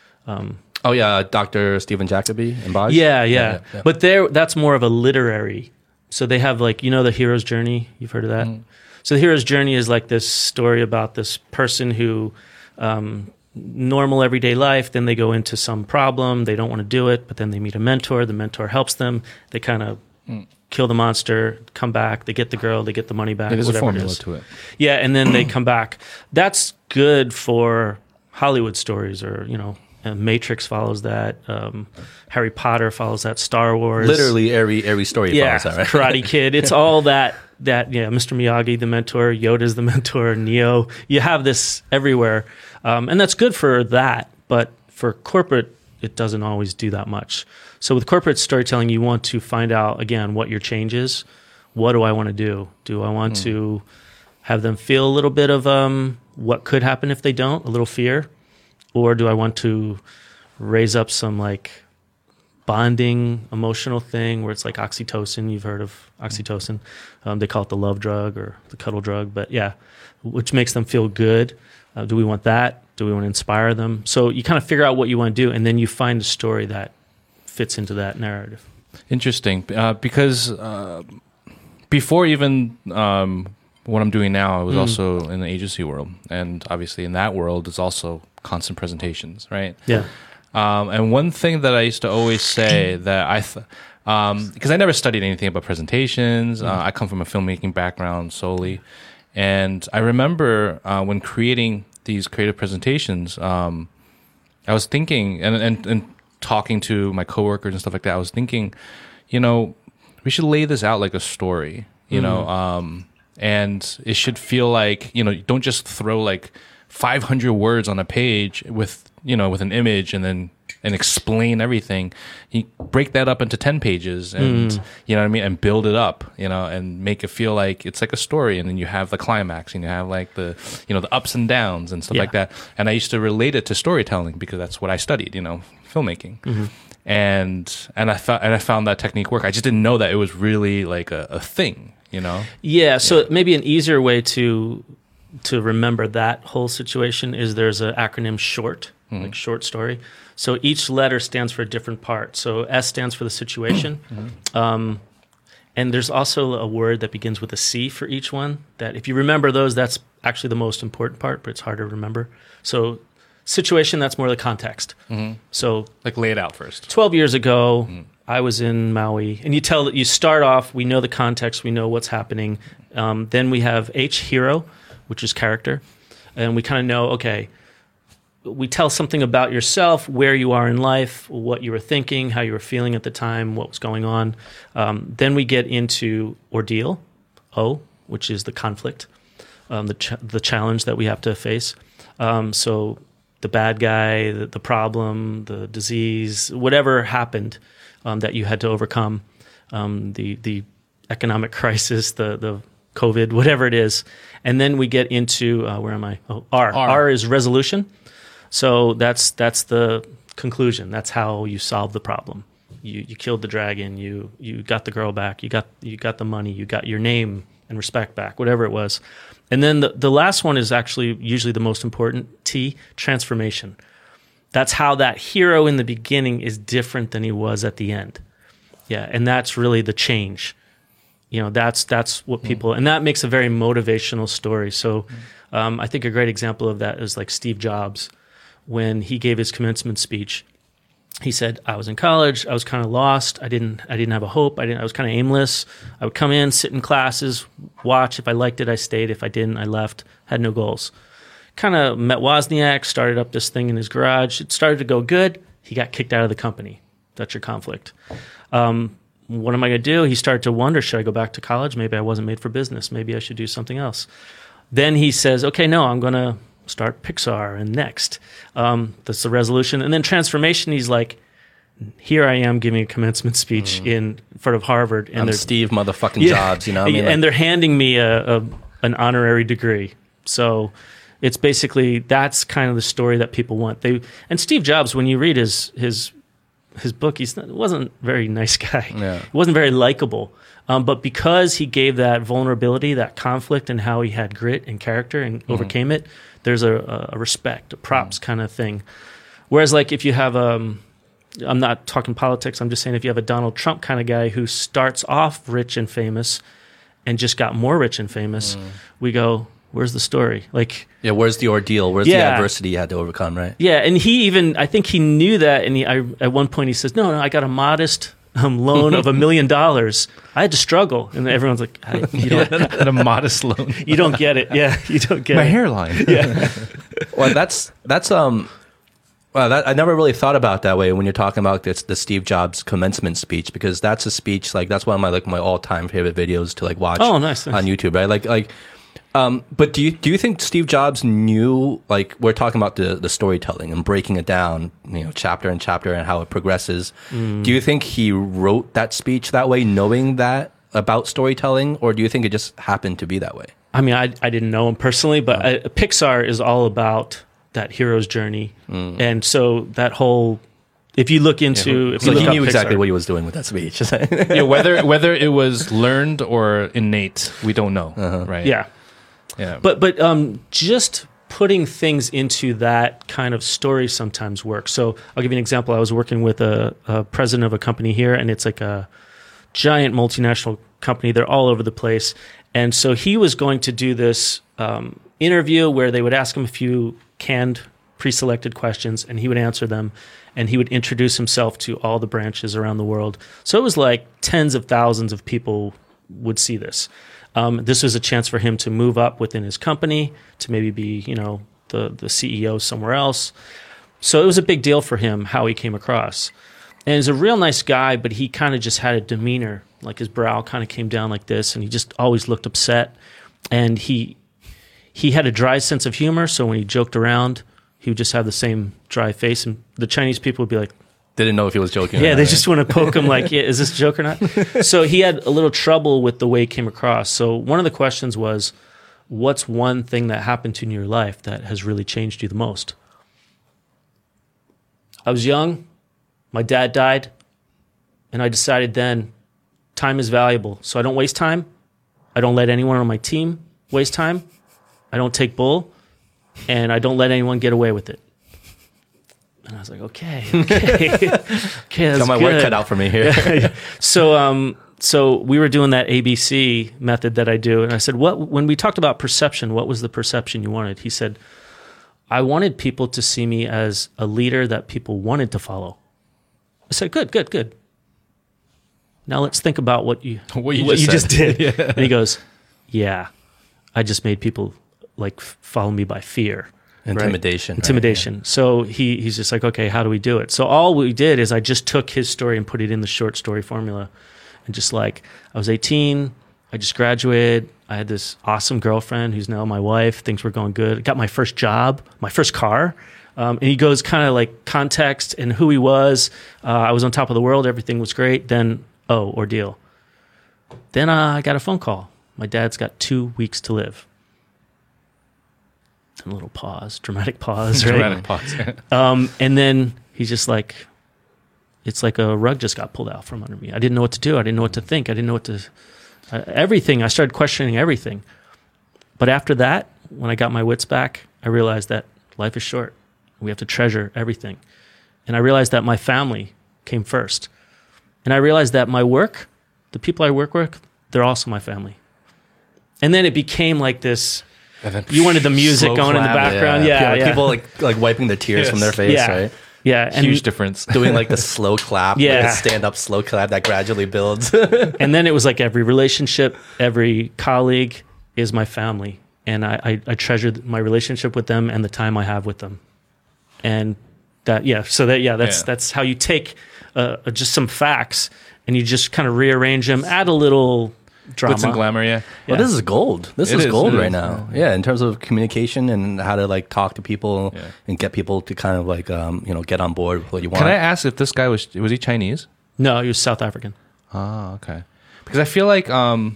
Dr. Stephen Jacoby and Bosch. Yeah. But that's more of a literary. So they have like, the hero's journey. You've heard of that? Mm. So the hero's journey is like this story about this person who, normal everyday life, then they go into some problem. They don't want to do it, but then they meet a mentor. The mentor helps them. They kind of kill the monster, come back, they get the girl, they get the money back. There's a formula it is. to it. Yeah, and then they come back. That's good for Hollywood stories, or, Matrix follows that. Harry Potter follows that. Star Wars. Literally every story follows that, right? Karate Kid. It's all that, Mr. Miyagi, the mentor, Yoda's the mentor, Neo. You have this everywhere. And that's good for that. But for corporate, it doesn't always do that much. So with corporate storytelling, you want to find out, again, what your change is. What do I want to do? Do I want to have them feel a little bit of what could happen if they don't, a little fear? Or do I want to raise up some like bonding emotional thing where it's like oxytocin? You've heard of oxytocin. They call it the love drug or the cuddle drug, but yeah, which makes them feel good. Do we want that? Do we want to inspire them? So you kind of figure out what you want to do, and then you find a story that fits into that narrative. Interesting, because before even what I'm doing now, I was also in the agency world, and obviously in that world, it's also constant presentations, right? Yeah. And one thing that I used to always say that because I never studied anything about presentations, I come from a filmmaking background solely, and I remember when creating these creative presentations, I was thinking, and talking to my coworkers and stuff like that, I was thinking, we should lay this out like a story, and it should feel like, don't just throw like 500 words on a page with an image and explain everything. You break that up into 10 pages and, you know what I mean? And build it up, and make it feel like it's like a story. And then you have the climax and you have like the ups and downs and stuff like that. And I used to relate it to storytelling because that's what I studied, filmmaking. Mm-hmm. And I found that technique work. I just didn't know that it was really like a thing, Yeah. So maybe an easier way to remember that whole situation is there's an acronym SHORT, like short story. So each letter stands for a different part. So S stands for the situation. And there's also a word that begins with a C for each one, that if you remember those, that's actually the most important part, but it's hard to remember. So situation, that's more the context. So like lay it out first. 12 years ago, I was in Maui, and you start off, we know the context, we know what's happening. Then we have H, hero, which is character. And we kind of know, okay, we tell something about yourself, where you are in life, what you were thinking, how you were feeling at the time, what was going on. Then we get into ordeal, O, which is the conflict, the challenge that we have to face. So the bad guy, the problem, the disease, whatever happened that you had to overcome, the economic crisis, the COVID, whatever it is. And then we get into, where am I? Oh, R. R is resolution. So that's the conclusion. That's how you solve the problem. You killed the dragon. You got the girl back. You got the money. You got your name and respect back. Whatever it was. And then the last one is actually usually the most important. T, transformation. That's how that hero in the beginning is different than he was at the end. Yeah, and that's really the change. That's what people, and that makes a very motivational story. So I think a great example of that is like Steve Jobs. When he gave his commencement speech, he said, I was in college, I was kind of lost, I didn't have a hope, I was kind of aimless. I would come in, sit in classes, watch. If I liked it, I stayed. If I didn't, I left. Had no goals. Kind of met Wozniak, started up this thing in his garage. It started to go good. He got kicked out of the company. That's your conflict. What am I going to do? He started to wonder, should I go back to college? Maybe I wasn't made for business. Maybe I should do something else. Then he says, okay, no, I'm going to start Pixar and Next. That's the resolution. And then transformation, he's like, here I am giving a commencement speech in front of Harvard. And I'm Steve motherfucking Jobs, and they're handing me an honorary degree. So it's basically, that's kind of the story that people want. And Steve Jobs, when you read his book, he wasn't a very nice guy. Yeah. He wasn't very likable. But because he gave that vulnerability, that conflict, and how he had grit and character and overcame it, there's a respect, a props kind of thing. Whereas like if you have, I'm not talking politics, I'm just saying if you have a Donald Trump kind of guy who starts off rich and famous and just got more rich and famous, we go, where's the story? Like, yeah, where's the ordeal? Where's the adversity you had to overcome, right? Yeah, and I think he knew that, and at one point he says, no, I got a modest loan of $1 million. I had to struggle, and everyone's like, "You don't at a modest loan. You don't get it." Yeah, you don't get my it. hairline. Yeah. Well, that's I never really thought about that way when you're talking about the Steve Jobs commencement speech, because that's a speech that's one of my my all time favorite videos to watch. Oh, nice. On YouTube, right? But do you think Steve Jobs knew, like, we're talking about the storytelling and breaking it down, chapter and chapter and how it progresses. Do you think he wrote that speech that way, knowing that about storytelling, or do you think it just happened to be that way? I mean, I didn't know him personally, but Pixar is all about that hero's journey. And so that whole, if you look into... So he knew exactly what he was doing with that speech. Yeah, whether it was learned or innate, we don't know, right? Yeah. Yeah. But just putting things into that kind of story sometimes works. So I'll give you an example. I was working with a president of a company here, and it's like a giant multinational company. They're all over the place. And so he was going to do this interview where they would ask him a few canned, pre-selected questions, and he would answer them, and he would introduce himself to all the branches around the world. So it was like tens of thousands of people would see this. This was a chance for him to move up within his company, to maybe be, the CEO somewhere else. So it was a big deal for him how he came across. And he's a real nice guy, but he kind of just had a demeanor, like his brow kind of came down like this, and he just always looked upset. And he had a dry sense of humor, so when he joked around, he would just have the same dry face, and the Chinese people would be like, didn't know if he was joking. Yeah, they just want to poke him like, yeah, is this a joke or not? So he had a little trouble with the way he came across. So one of the questions was, what's one thing that happened to you in your life that has really changed you the most? I was young, my dad died, and I decided then time is valuable. So I don't waste time. I don't let anyone on my team waste time. I don't take bull, and I don't let anyone get away with it. And I was like, okay, that's got my work cut out for me here. So we were doing that ABC method that I do, and I said, when we talked about perception, what was the perception you wanted? He said, I wanted people to see me as a leader that people wanted to follow. I said, good. Now let's think about what you just did. Yeah. And he goes, yeah, I just made people like follow me by fear. Intimidation. Right? Intimidation. Right? Yeah. So he's just like, okay, how do we do it? So all we did is I just took his story and put it in the short story formula. And just like, I was 18, I just graduated, I had this awesome girlfriend who's now my wife, things were going good. I got my first job, my first car. And he goes kind of like context and who he was. I was on top of the world, everything was great. Then, ordeal. Then I got a phone call. My dad's got 2 weeks to live. A little pause, dramatic pause, right? Dramatic pause. And then he's just like, it's like a rug just got pulled out from under me. I didn't know what to do. I didn't know what to think. I didn't know what to, everything. I started questioning everything. But after that, when I got my wits back, I realized that life is short. We have to treasure everything. And I realized that my family came first. And I realized that my work, the people I work with, they're also my family. And then it became like this, you wanted the music going in the background. Yeah. People like wiping the tears from their face, right? Yeah. And huge difference. Doing like the slow clap, like a stand-up slow clap that gradually builds. And then it was like every relationship, every colleague is my family. And I treasure my relationship with them and the time I have with them. And that's how you take just some facts and you just kind of rearrange them, add a little drama. With some glamour, yeah. Well, this is gold. This is gold right now. Yeah, in terms of communication and how to like talk to people and get people to kind of like get on board with what you want. Can I ask if this guy was he Chinese? No, he was South African. Oh, okay. Because I feel like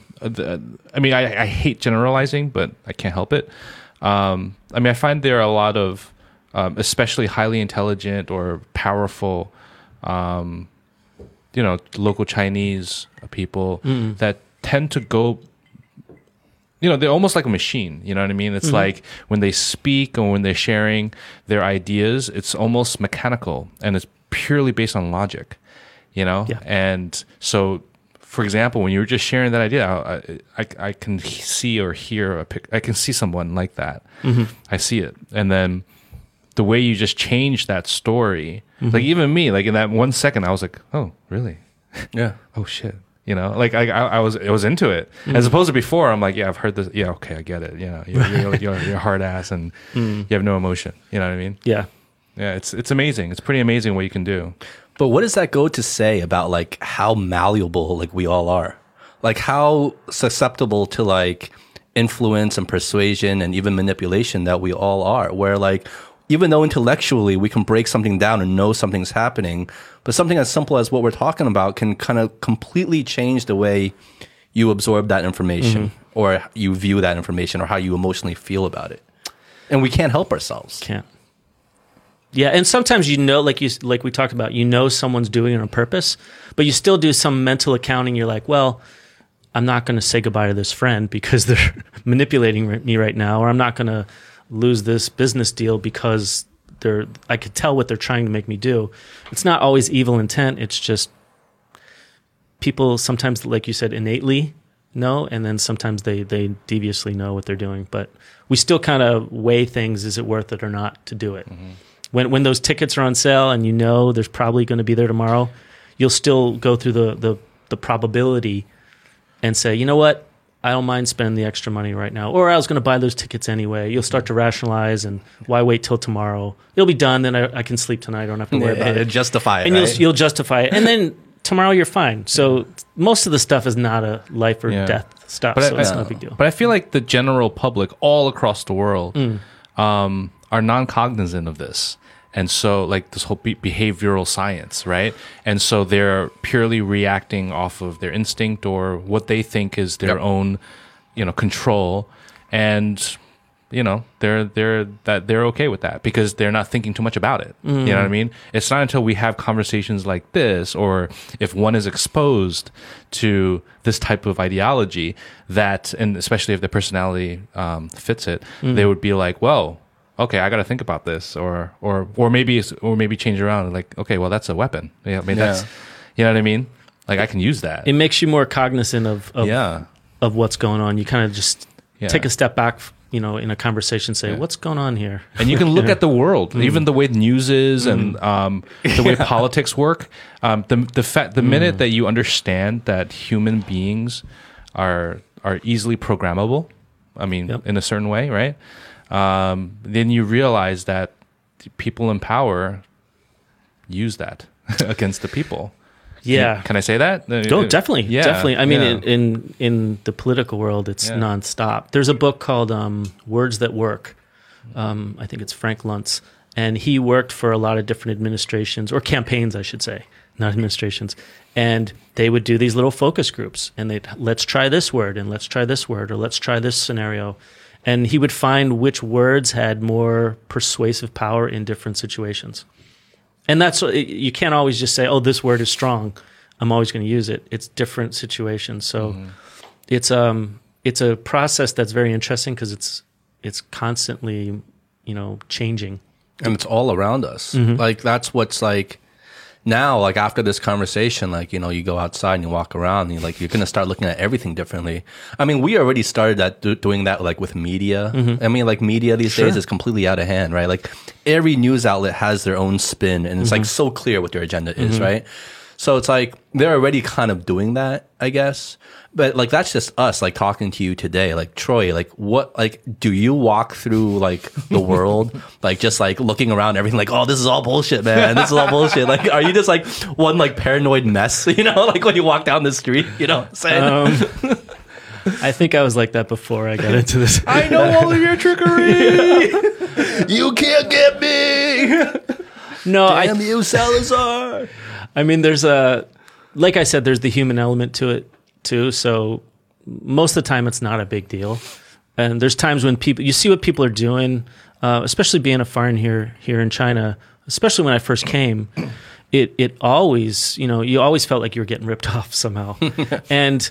I hate generalizing, but I can't help it. I find there are a lot of especially highly intelligent or powerful local Chinese people that tend to go, they're almost like a machine. You know what I mean? It's like when they speak or when they're sharing their ideas, it's almost mechanical and it's purely based on logic, Yeah. And so, for example, when you were just sharing that idea, I can see or hear I can see someone like that. I see it. And then the way you just changed that story, like even me, like in that 1 second, I was like, oh, really? Yeah. Oh, shit. I was into it. As opposed to before, I'm like, yeah, I've heard this. Yeah, okay, I get it. You're a hard ass and you have no emotion. You know what I mean? Yeah. Yeah, it's amazing. It's pretty amazing what you can do. But what does that go to say about like how malleable like we all are? Like how susceptible to like influence and persuasion and even manipulation that we all are, where like, even though intellectually we can break something down and know something's happening, but something as simple as what we're talking about can kind of completely change the way you absorb that information or you view that information or how you emotionally feel about it. And we can't help ourselves. Can't. Yeah, and sometimes like we talked about, someone's doing it on purpose, but you still do some mental accounting. You're like, well, I'm not going to say goodbye to this friend because they're manipulating me right now, or I'm not going to lose this business deal because I could tell what they're trying to make me do. It's not always evil intent. It's just people sometimes, like you said, innately know, and then sometimes they deviously know what they're doing. But we still kind of weigh things. Is it worth it or not to do it? When those tickets are on sale and there's probably going to be there tomorrow, you'll still go through the probability and say, you know what? I don't mind spending the extra money right now. Or I was going to buy those tickets anyway. You'll start to rationalize, and why wait till tomorrow? It'll be done, then I can sleep tonight. I don't have to worry about it. Justify it, and right? you'll justify it. And then tomorrow you're fine. So most of the stuff is not a life or death stuff, so it's not a big deal. But I feel like the general public all across the world are non-cognizant of this. And so, like, this whole behavioral science, right? And so they're purely reacting off of their instinct or what they think is their own, control. And, they're okay with that because they're not thinking too much about it. You know what I mean? It's not until we have conversations like this, or if one is exposed to this type of ideology that, and especially if the personality fits it, they would be like, well, okay, I got to think about this, or maybe change around. Like, okay, well, that's a weapon. Yeah, I mean, that's, you know what I mean? Like, I can use that. It makes you more cognizant of what's going on. You kind of just take a step back, in a conversation, say, what's going on here? And you can look at the world, even the way news is, and the way politics work. The minute that you understand that human beings are easily programmable, I mean, in a certain way, right? Then you realize that people in power use that against the people. Yeah. Can I say that? Oh, definitely. Yeah. Definitely. I mean, in the political world, it's nonstop. There's a book called Words That Work. I think it's Frank Luntz. And he worked for a lot of different administrations, or campaigns, I should say, not administrations. And they would do these little focus groups. And let's try this word, and let's try this word, or let's try this scenario. And he would find which words had more persuasive power in different situations. And you can't always just say, oh, this word is strong, I'm always going to use it. It's different situations. So it's a process that's very interesting because it's constantly, changing. And it's all around us. Like, that's what's like, now, like, after this conversation, like, you go outside and you walk around and you're going to start looking at everything differently. I mean, we already started doing that, like, with media. I mean, like, media these days is completely out of hand, right? Like, every news outlet has their own spin, and it's like so clear what their agenda is, right? So it's like, they're already kind of doing that, I guess. But like, that's just us, like, talking to you today. Like, Troy, like, what, like, do you walk through, like, the world, like, just like looking around everything, like, oh, this is all bullshit, man, this is all bullshit. Like, are you just like one like paranoid mess, like when you walk down the street, what I'm saying? I think I was like that before I got into this. I know all of your trickery. You can't get me. No, damn you, Salazar. I mean, like I said, there's the human element to it too. So most of the time it's not a big deal. And there's times when you see what people are doing, especially being a foreign here in China, especially when I first came, it always, you always felt like you were getting ripped off somehow. And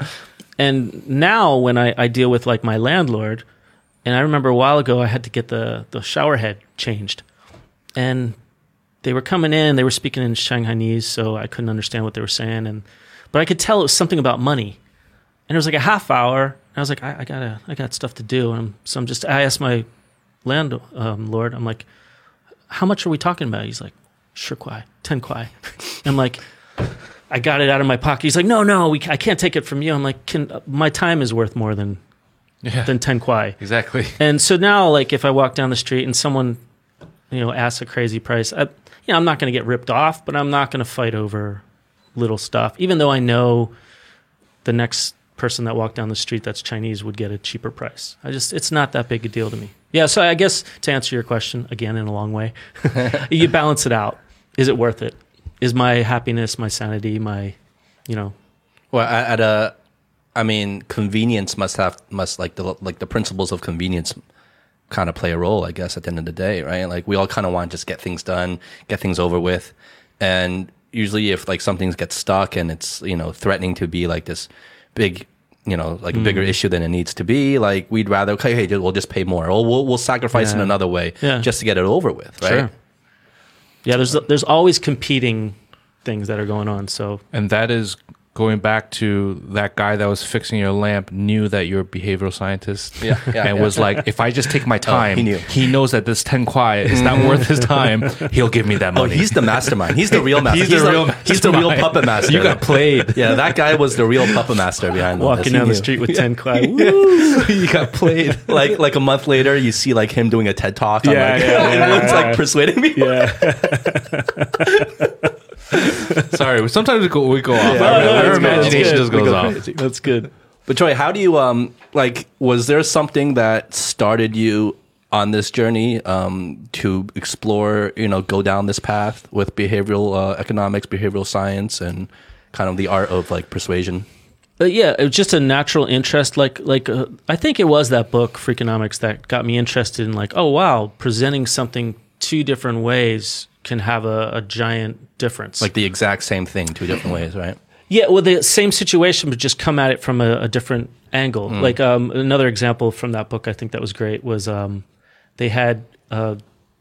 now when I deal with like my landlord, and I remember a while ago I had to get the shower head changed, and they were coming in, they were speaking in Shanghainese, so I couldn't understand what they were saying, but I could tell it was something about money. And it was like a half hour, and I was like, I got stuff to do. I asked my landlord, I'm like, how much are we talking about? He's like, 10 kwai. I'm like, I got it out of my pocket. He's like, no, I can't take it from you. I'm like, my time is worth more than 10 kwai. Exactly. And so now, like, if I walk down the street and someone, asks a crazy price, I'm not going to get ripped off, but I'm not going to fight over little stuff, even though I know the next person that walked down the street that's Chinese would get a cheaper price. It's not that big a deal to me. Yeah, so I guess to answer your question, again, in a long way, you balance it out. Is it worth it? Is my happiness, my sanity, my, Well, convenience must like the principles of convenience kind of play a role, I guess, at the end of the day, right? Like we all kind of want to just get things done, get things over with. And usually if like something gets stuck and it's, threatening to be like this big, a bigger issue than it needs to be, like we'd rather, okay, hey, we'll just pay more, or we'll sacrifice in another way just to get it over with, right? Sure. Yeah, there's always competing things that are going on. So, and that is going back to that guy that was fixing your lamp knew that you're a behavioral scientist, and was like, if I just take my time, he knows that this 10 kwai is not worth his time. He'll give me that money. Oh, he's the mastermind. He's the real master. He's the real puppet master. You got played. Yeah, that guy was the real puppet master behind all walking down the street with 10 kwai. You got played. Like a month later, you see like him doing a TED talk. Everyone's like persuading me. Yeah. Sorry, sometimes we go off. Our imagination just goes off. Crazy. That's good. But Troy, how do you was there something that started you on this journey to explore, go down this path with behavioral economics, behavioral science, and kind of the art of like persuasion? Yeah, it was just a natural interest. I think it was that book, Freakonomics, that got me interested in like, oh wow, presenting something two different ways can have a giant difference. Like the exact same thing, two different ways, right? Yeah, well, the same situation, but just come at it from a different angle. Like another example from that book, I think that was great, was they had an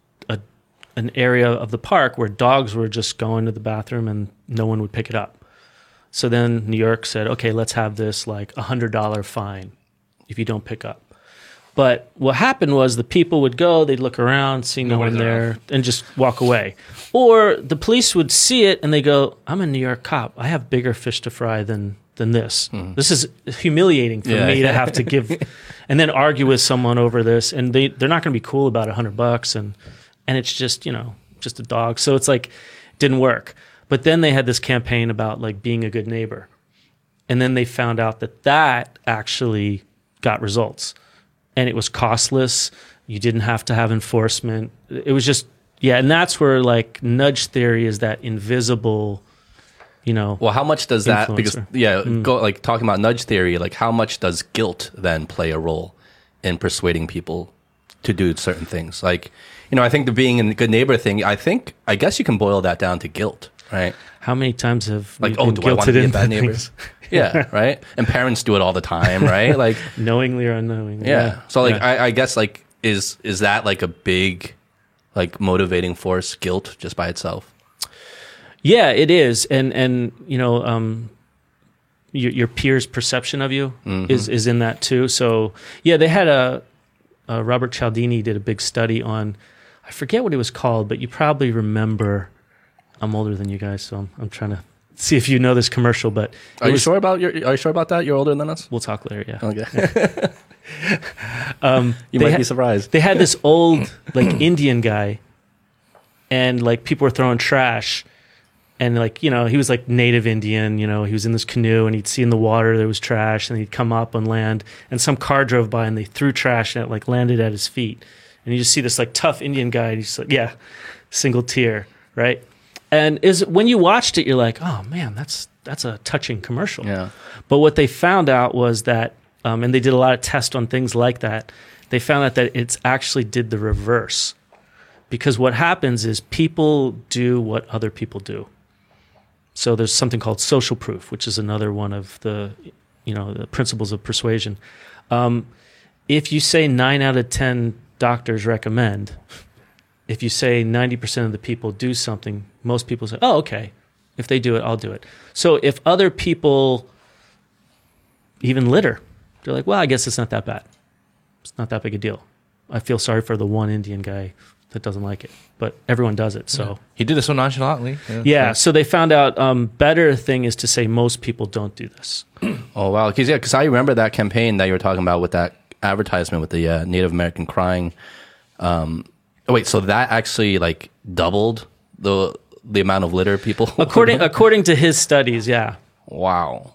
area of the park where dogs were just going to the bathroom and no one would pick it up. So then New York said, okay, let's have this like $100 fine if you don't pick up. But what happened was the people would go, they'd look around, see no one there, and just walk away. Or the police would see it and they go, I'm a New York cop. I have bigger fish to fry than this. This is humiliating for me to have to give and then argue with someone over this. And they're not going to be cool about $100 and it's just, just a dog. So it's like, didn't work. But then they had this campaign about like being a good neighbor. And then they found out that actually got results. And it was costless. You didn't have to have enforcement. It was just, and that's where like nudge theory is that invisible, Well, how much does that, because, go like talking about nudge theory, like how much does guilt then play a role in persuading people to do certain things? Like, I think the being a good neighbor thing, I guess you can boil that down to guilt, right? How many times have like, been do I want to be a bad neighbor? Things? Yeah, right. And parents do it all the time, right? Like knowingly or unknowingly. Yeah. So like, I guess like is that like a big like motivating force, guilt just by itself? Yeah, it is, and your peers' perception of you is in that too. So yeah, they had a Robert Cialdini did a big study on, I forget what it was called, but you probably remember. I'm older than you guys, so I'm trying to see if you know this commercial. But are you sure about that? You're older than us? We'll talk later. Yeah. Okay. You might be surprised. They had this old like Indian guy, and like people were throwing trash, and like he was like native Indian. He was in this canoe, and he'd see in the water there was trash, and he'd come up on land, and some car drove by, and they threw trash, and it like landed at his feet, and you just see this like tough Indian guy, and he's like, single tear, right? And when you watched it, you're like, oh man, that's a touching commercial. Yeah. But what they found out was that, and they did a lot of tests on things like that, they found out that it's actually did the reverse. Because what happens is people do what other people do. So there's something called social proof, which is another one of the principles of persuasion. If you say 9 out of 10 doctors recommend, if you say 90% of the people do something, most people say, oh, okay. If they do it, I'll do it. So if other people even litter, they're like, well, I guess it's not that bad. It's not that big a deal. I feel sorry for the one Indian guy that doesn't like it, but everyone does it. So he did it so nonchalantly. Yeah. So they found out better thing is to say most people don't do this. Oh, wow. Because I remember that campaign that you were talking about with that advertisement with the Native American crying. Wait, so that actually like doubled the amount of litter people? According to his studies, yeah. Wow.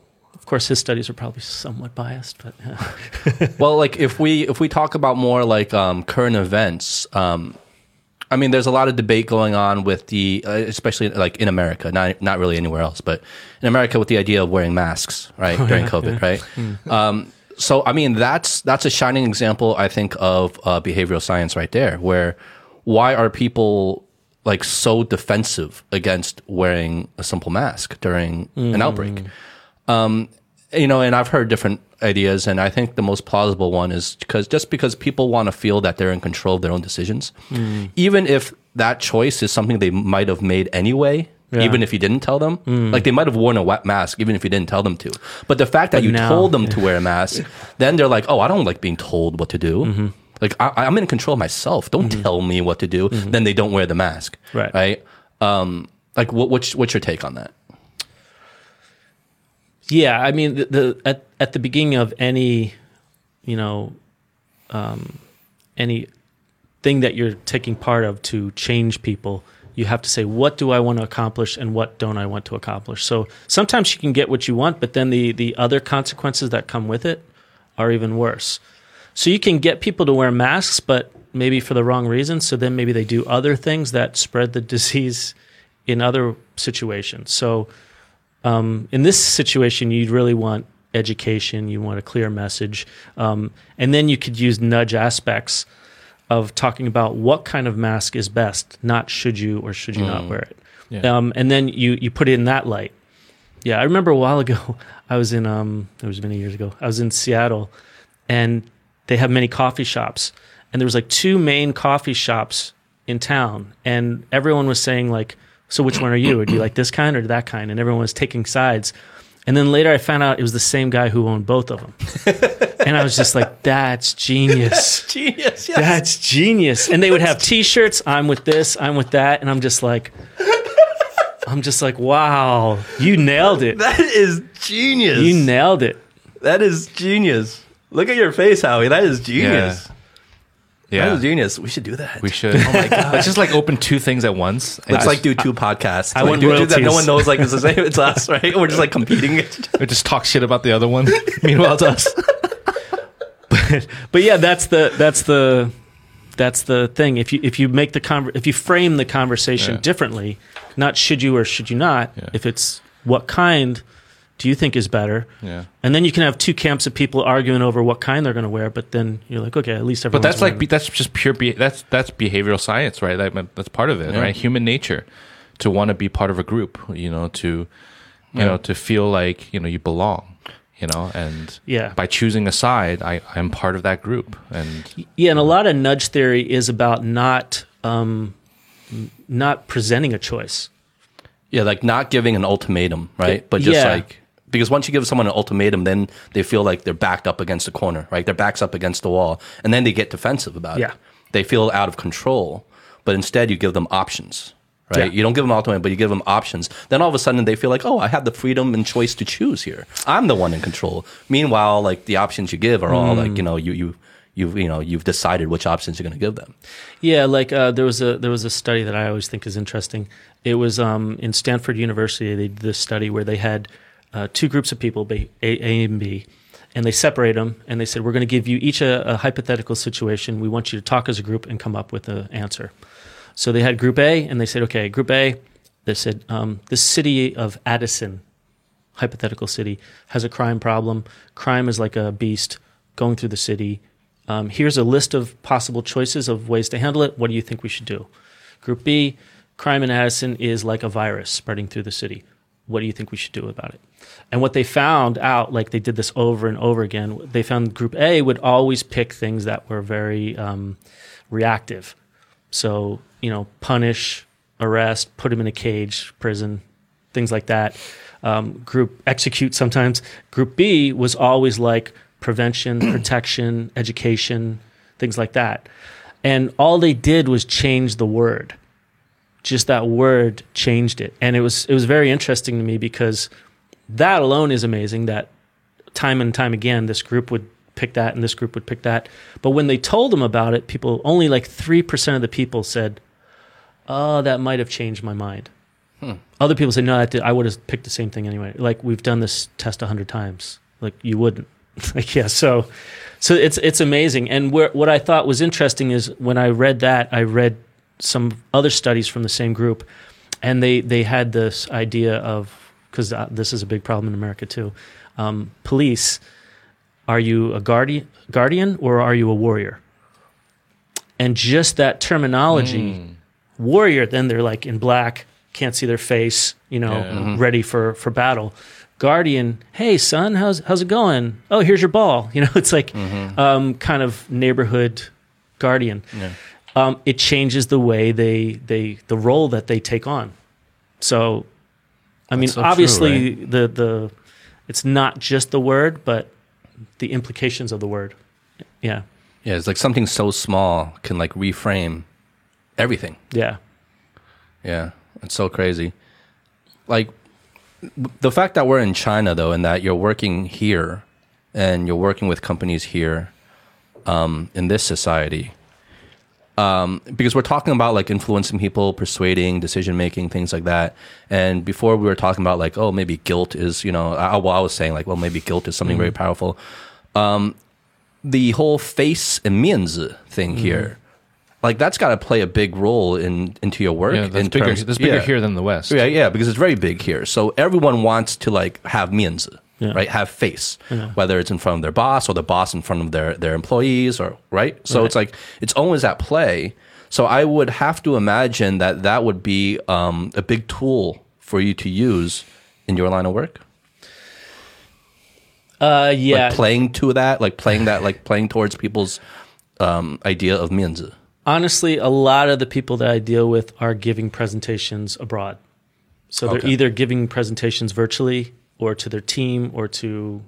course, his studies are probably somewhat biased, but Well, like if we talk about more like current events, I mean, there's a lot of debate going on with the, especially like in America, not really anywhere else, but in America with the idea of wearing masks, right, during COVID, right? So, I mean, that's a shining example, I think, of behavioral science right there, where why are people like so defensive against wearing a simple mask during an outbreak? You know, and I've heard different ideas, and I think the most plausible one is because people want to feel that they're in control of their own decisions, even if that choice is something they might have made anyway. Yeah. Even if you didn't tell them, like they might have worn a wet mask, even if you didn't tell them to. But the fact that you told them to wear a mask, then they're like, "Oh, I don't like being told what to do. Like I'm in control of myself. Don't tell me what to do." Then they don't wear the mask, right? Like, what's your take on that? Yeah, I mean, at the beginning of any, any thing that you're taking part of to change people, you have to say, what do I want to accomplish and what don't I want to accomplish? So sometimes you can get what you want, but then the other consequences that come with it are even worse. So you can get people to wear masks, but maybe for the wrong reasons. So then maybe they do other things that spread the disease in other situations. So in this situation, you'd really want education. You want a clear message. And then you could use nudge aspects of talking about what kind of mask is best, not should you or should you not wear it. Yeah. And then you put it in that light. Yeah, I remember a while ago, I was in, it was many years ago, I was in Seattle, and they have many coffee shops. And there was like 2 main coffee shops in town, and everyone was saying like, so which one are you? Or do you like this kind or that kind? And everyone was taking sides. And then later I found out it was the same guy who owned both of them. And I was just like, that's genius. That's genius, yes. That's genius. And they would have T-shirts, I'm with this, I'm with that. And I'm just like, wow, you nailed it. That is genius. You nailed it. That is genius. Look at your face, Howie. That is genius. Yeah. That is genius. We should do that. We should. Oh my God. Let's just like open 2 things at once. Let's like do 2 podcasts. I want royalties. That no one knows like it's the same. It's us, right? We're just like competing. We just talk shit about the other one. Meanwhile, it's us. But yeah, that's the thing. If you make if you frame the conversation differently, not should you or should you not. Yeah. If it's what kind do you think is better? Yeah. And then you can have 2 camps of people arguing over what kind they're going to wear, but then you're like, okay, at least everyone's But that's like that's just pure that's behavioral science, right? That's part of it, right? Human nature to want to be part of a group, to feel like, you belong, and by choosing a side, I'm part of that group. And and a lot of nudge theory is about not presenting a choice. Yeah, like not giving an ultimatum, right? But just like, because once you give someone an ultimatum, then they feel like they're backed up against a corner, right? Their back's up against the wall, and then they get defensive about it. They feel out of control, but instead you give them options, right? You don't give them ultimatum, but you give them options. Then all of a sudden they feel like, oh, I have the freedom and choice to choose here. I'm the one in control. Meanwhile, like the options you give are all like, you've decided which options you're going to give them. Yeah, like there was a study that I always think is interesting. It was in Stanford University. They did this study where they had 2 groups of people, A and B, and they separated them, and they said, we're going to give you each a hypothetical situation. We want you to talk as a group and come up with an answer. So they had Group A, and they said, okay, Group A, they said, the city of Addison, hypothetical city, has a crime problem. Crime is like a beast going through the city. Here's a list of possible choices of ways to handle it. What do you think we should do? Group B, crime in Addison is like a virus spreading through the city. What do you think we should do about it? And what they found out, like they did this over and over again, they found Group A would always pick things that were very reactive. So, punish, arrest, put him in a cage, prison, things like that. Execute sometimes. Group B was always like prevention, protection, education, things like that. And all they did was change the word. Just that word changed it. And it was very interesting to me because that alone is amazing that time and time again, this group would pick that and this group would pick that. But when they told them about it, only like 3% of the people said, oh, that might have changed my mind. Other people say, no, I would have picked the same thing anyway. Like, we've done this test 100 times. Like, you wouldn't. Like, yeah, so it's amazing. And what I thought was interesting is when I read that, I read some other studies from the same group, and they had this idea of, because this is a big problem in America too, police, are you a guardian or are you a warrior? And just that terminology, warrior, then they're like in black, can't see their face, ready for battle. Guardian, hey son, how's it going? Oh, here's your ball. It's like kind of neighborhood guardian. Yeah. It changes the way the role that they take on. So, I mean, so obviously true, right? the it's not just the word, but the implications of the word. Yeah. Yeah, it's like something so small can like reframe everything. Yeah. Yeah, it's so crazy. Like, the fact that we're in China, though, and that you're working here and you're working with companies here in this society, because we're talking about like influencing people, persuading, decision making, things like that. And before we were talking about like, oh, maybe guilt is, I was saying like, well, maybe guilt is something very powerful. The whole face and 面子 thing here, like that's got to play a big role into your work. Yeah, that's bigger here than the West. Yeah, because it's very big here. So everyone wants to like have 面子, right? Have face, whether it's in front of their boss or the boss in front of their employees, or right. So it's like it's always at play. So I would have to imagine that would be a big tool for you to use in your line of work. Yeah, like playing towards people's idea of 面子. Honestly, a lot of the people that I deal with are giving presentations abroad. So they're either giving presentations virtually or to their team or to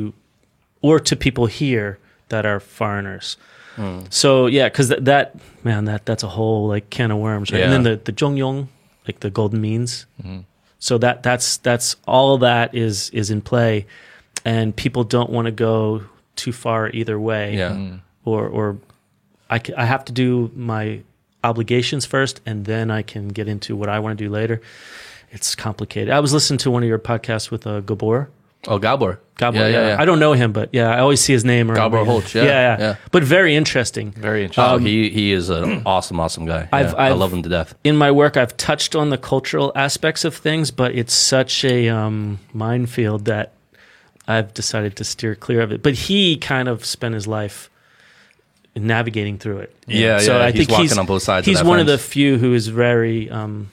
people here that are foreigners. So yeah, because that's a whole like can of worms, right? Yeah. And then the Zhongyong, like the golden means. So that's all that is in play, and people don't want to go too far either way. Yeah. Or I have to do my obligations first, and then I can get into what I want to do later. It's complicated. I was listening to one of your podcasts with Gabor. Oh, Gabor. Yeah. I don't know him, but yeah, I always see his name. Gabor Holtz, yeah. But very interesting. Very interesting. He is an awesome guy. I love him to death. In my work, I've touched on the cultural aspects of things, but it's such a minefield that I've decided to steer clear of it. But he kind of spent his life navigating through it. So I think he's on both sides. He's one of the few who is very,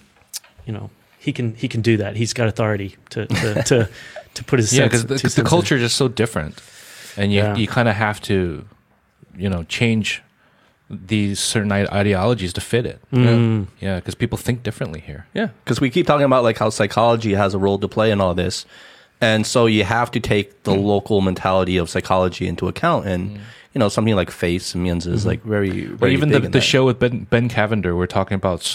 he can do that. He's got authority to put his because the culture is just so different, and you kind of have to, change these certain ideologies to fit it. Yeah, because people think differently here. Yeah, because we keep talking about like how psychology has a role to play in all this, and so you have to take the local mentality of psychology into account and. Something like face and 面子 is like very, very even big the show with Ben Cavender, we're talking about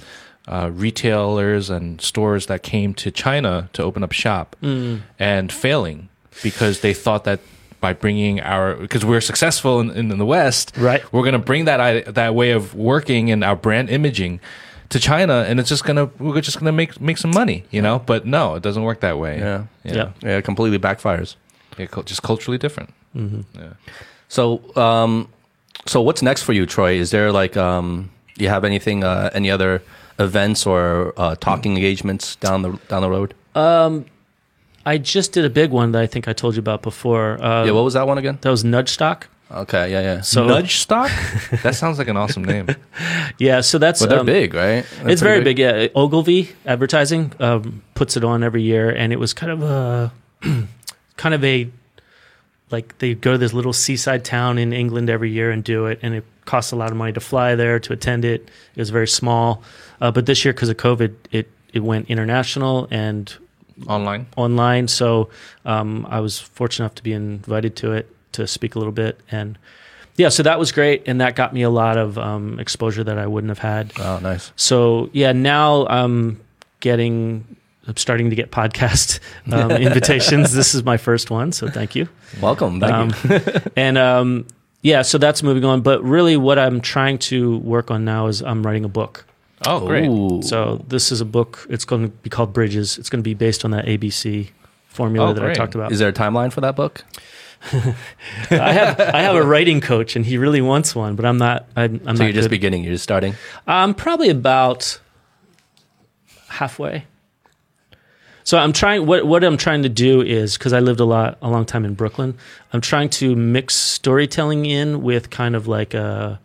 retailers and stores that came to China to open up shop and failing because they thought that by bringing because we're successful in the West, right? We're going to bring that way of working and our brand imaging to China, and we're just gonna make some money, But no, it doesn't work that way. Yeah, it completely backfires. Yeah, just culturally different. Yeah. So, so what's next for you, Troy? Is there like, you have anything, any other events or talking engagements down the road? I just did a big one that I think I told you about before. What was that one again? That was Nudge Stock. Okay, yeah. So Nudge Stock? That sounds like an awesome name. Yeah, so that's... But they're big, right? It's very big, yeah. Ogilvy Advertising puts it on every year, and it was kind of a like they go to this little seaside town in England every year and do it, and it costs a lot of money to fly there to attend it. It was very small, but this year because of COVID, it went international and online. So I was fortunate enough to be invited to it to speak a little bit, and so that was great, and that got me a lot of exposure that I wouldn't have had. Oh, nice. So now I'm starting to get podcast invitations. This is my first one, so thank you. Welcome. Thank you. And so that's moving on. But really what I'm trying to work on now is I'm writing a book. Oh, great. Ooh. So this is a book. It's going to be called Bridges. It's going to be based on that ABC formula that I great. talked about. Is there a timeline for that book? I have a writing coach, and he really wants one, but I'm not. I'm So not you're just good. beginning. You're just starting. I'm probably about halfway. So I'm trying. What I'm trying to do is, because I lived a long time in Brooklyn, I'm trying to mix storytelling in with kind of like a,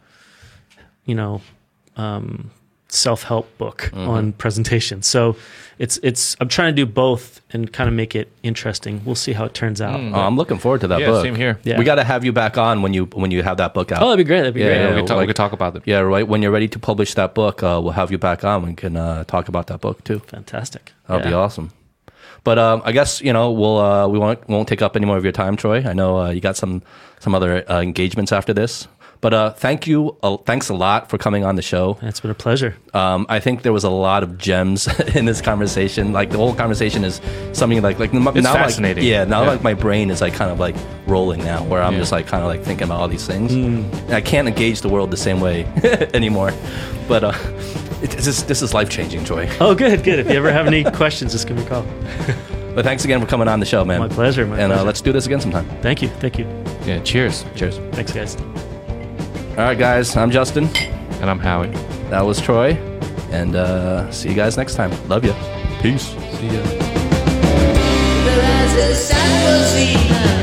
self-help book on presentation. So it's I'm trying to do both and kind of make it interesting. We'll see how it turns out. Oh, I'm looking forward to that Yeah, book. same here. Yeah. We got to have you back on when you have that book out. Oh, that'd be great. That'd be great. Yeah, we could talk about it. Yeah, right. When you're ready to publish that book, we'll have you back on. We can talk about that book too. Fantastic. That'll be Yeah. awesome. But we won't take up any more of your time, Troy. I know you got some other engagements after this. But thanks a lot for coming on the show. It's been a pleasure. I think there was a lot of gems in this conversation. Like the whole conversation is something like It's now, fascinating. Like my brain is like kind of like rolling now, where I'm just like kind of like thinking about all these things. And I can't engage the world the same way anymore. But this is life changing, Troy. Oh, good. If you ever have any questions, just give me a call. But thanks again for coming on the show, man. My pleasure. And let's do this again sometime. Thank you. Yeah, cheers. Cheers. Thanks, guys. All right, guys. I'm Justin. And I'm Howie. That was Troy. And see you guys next time. Love you. Peace. See ya. There is a sun will see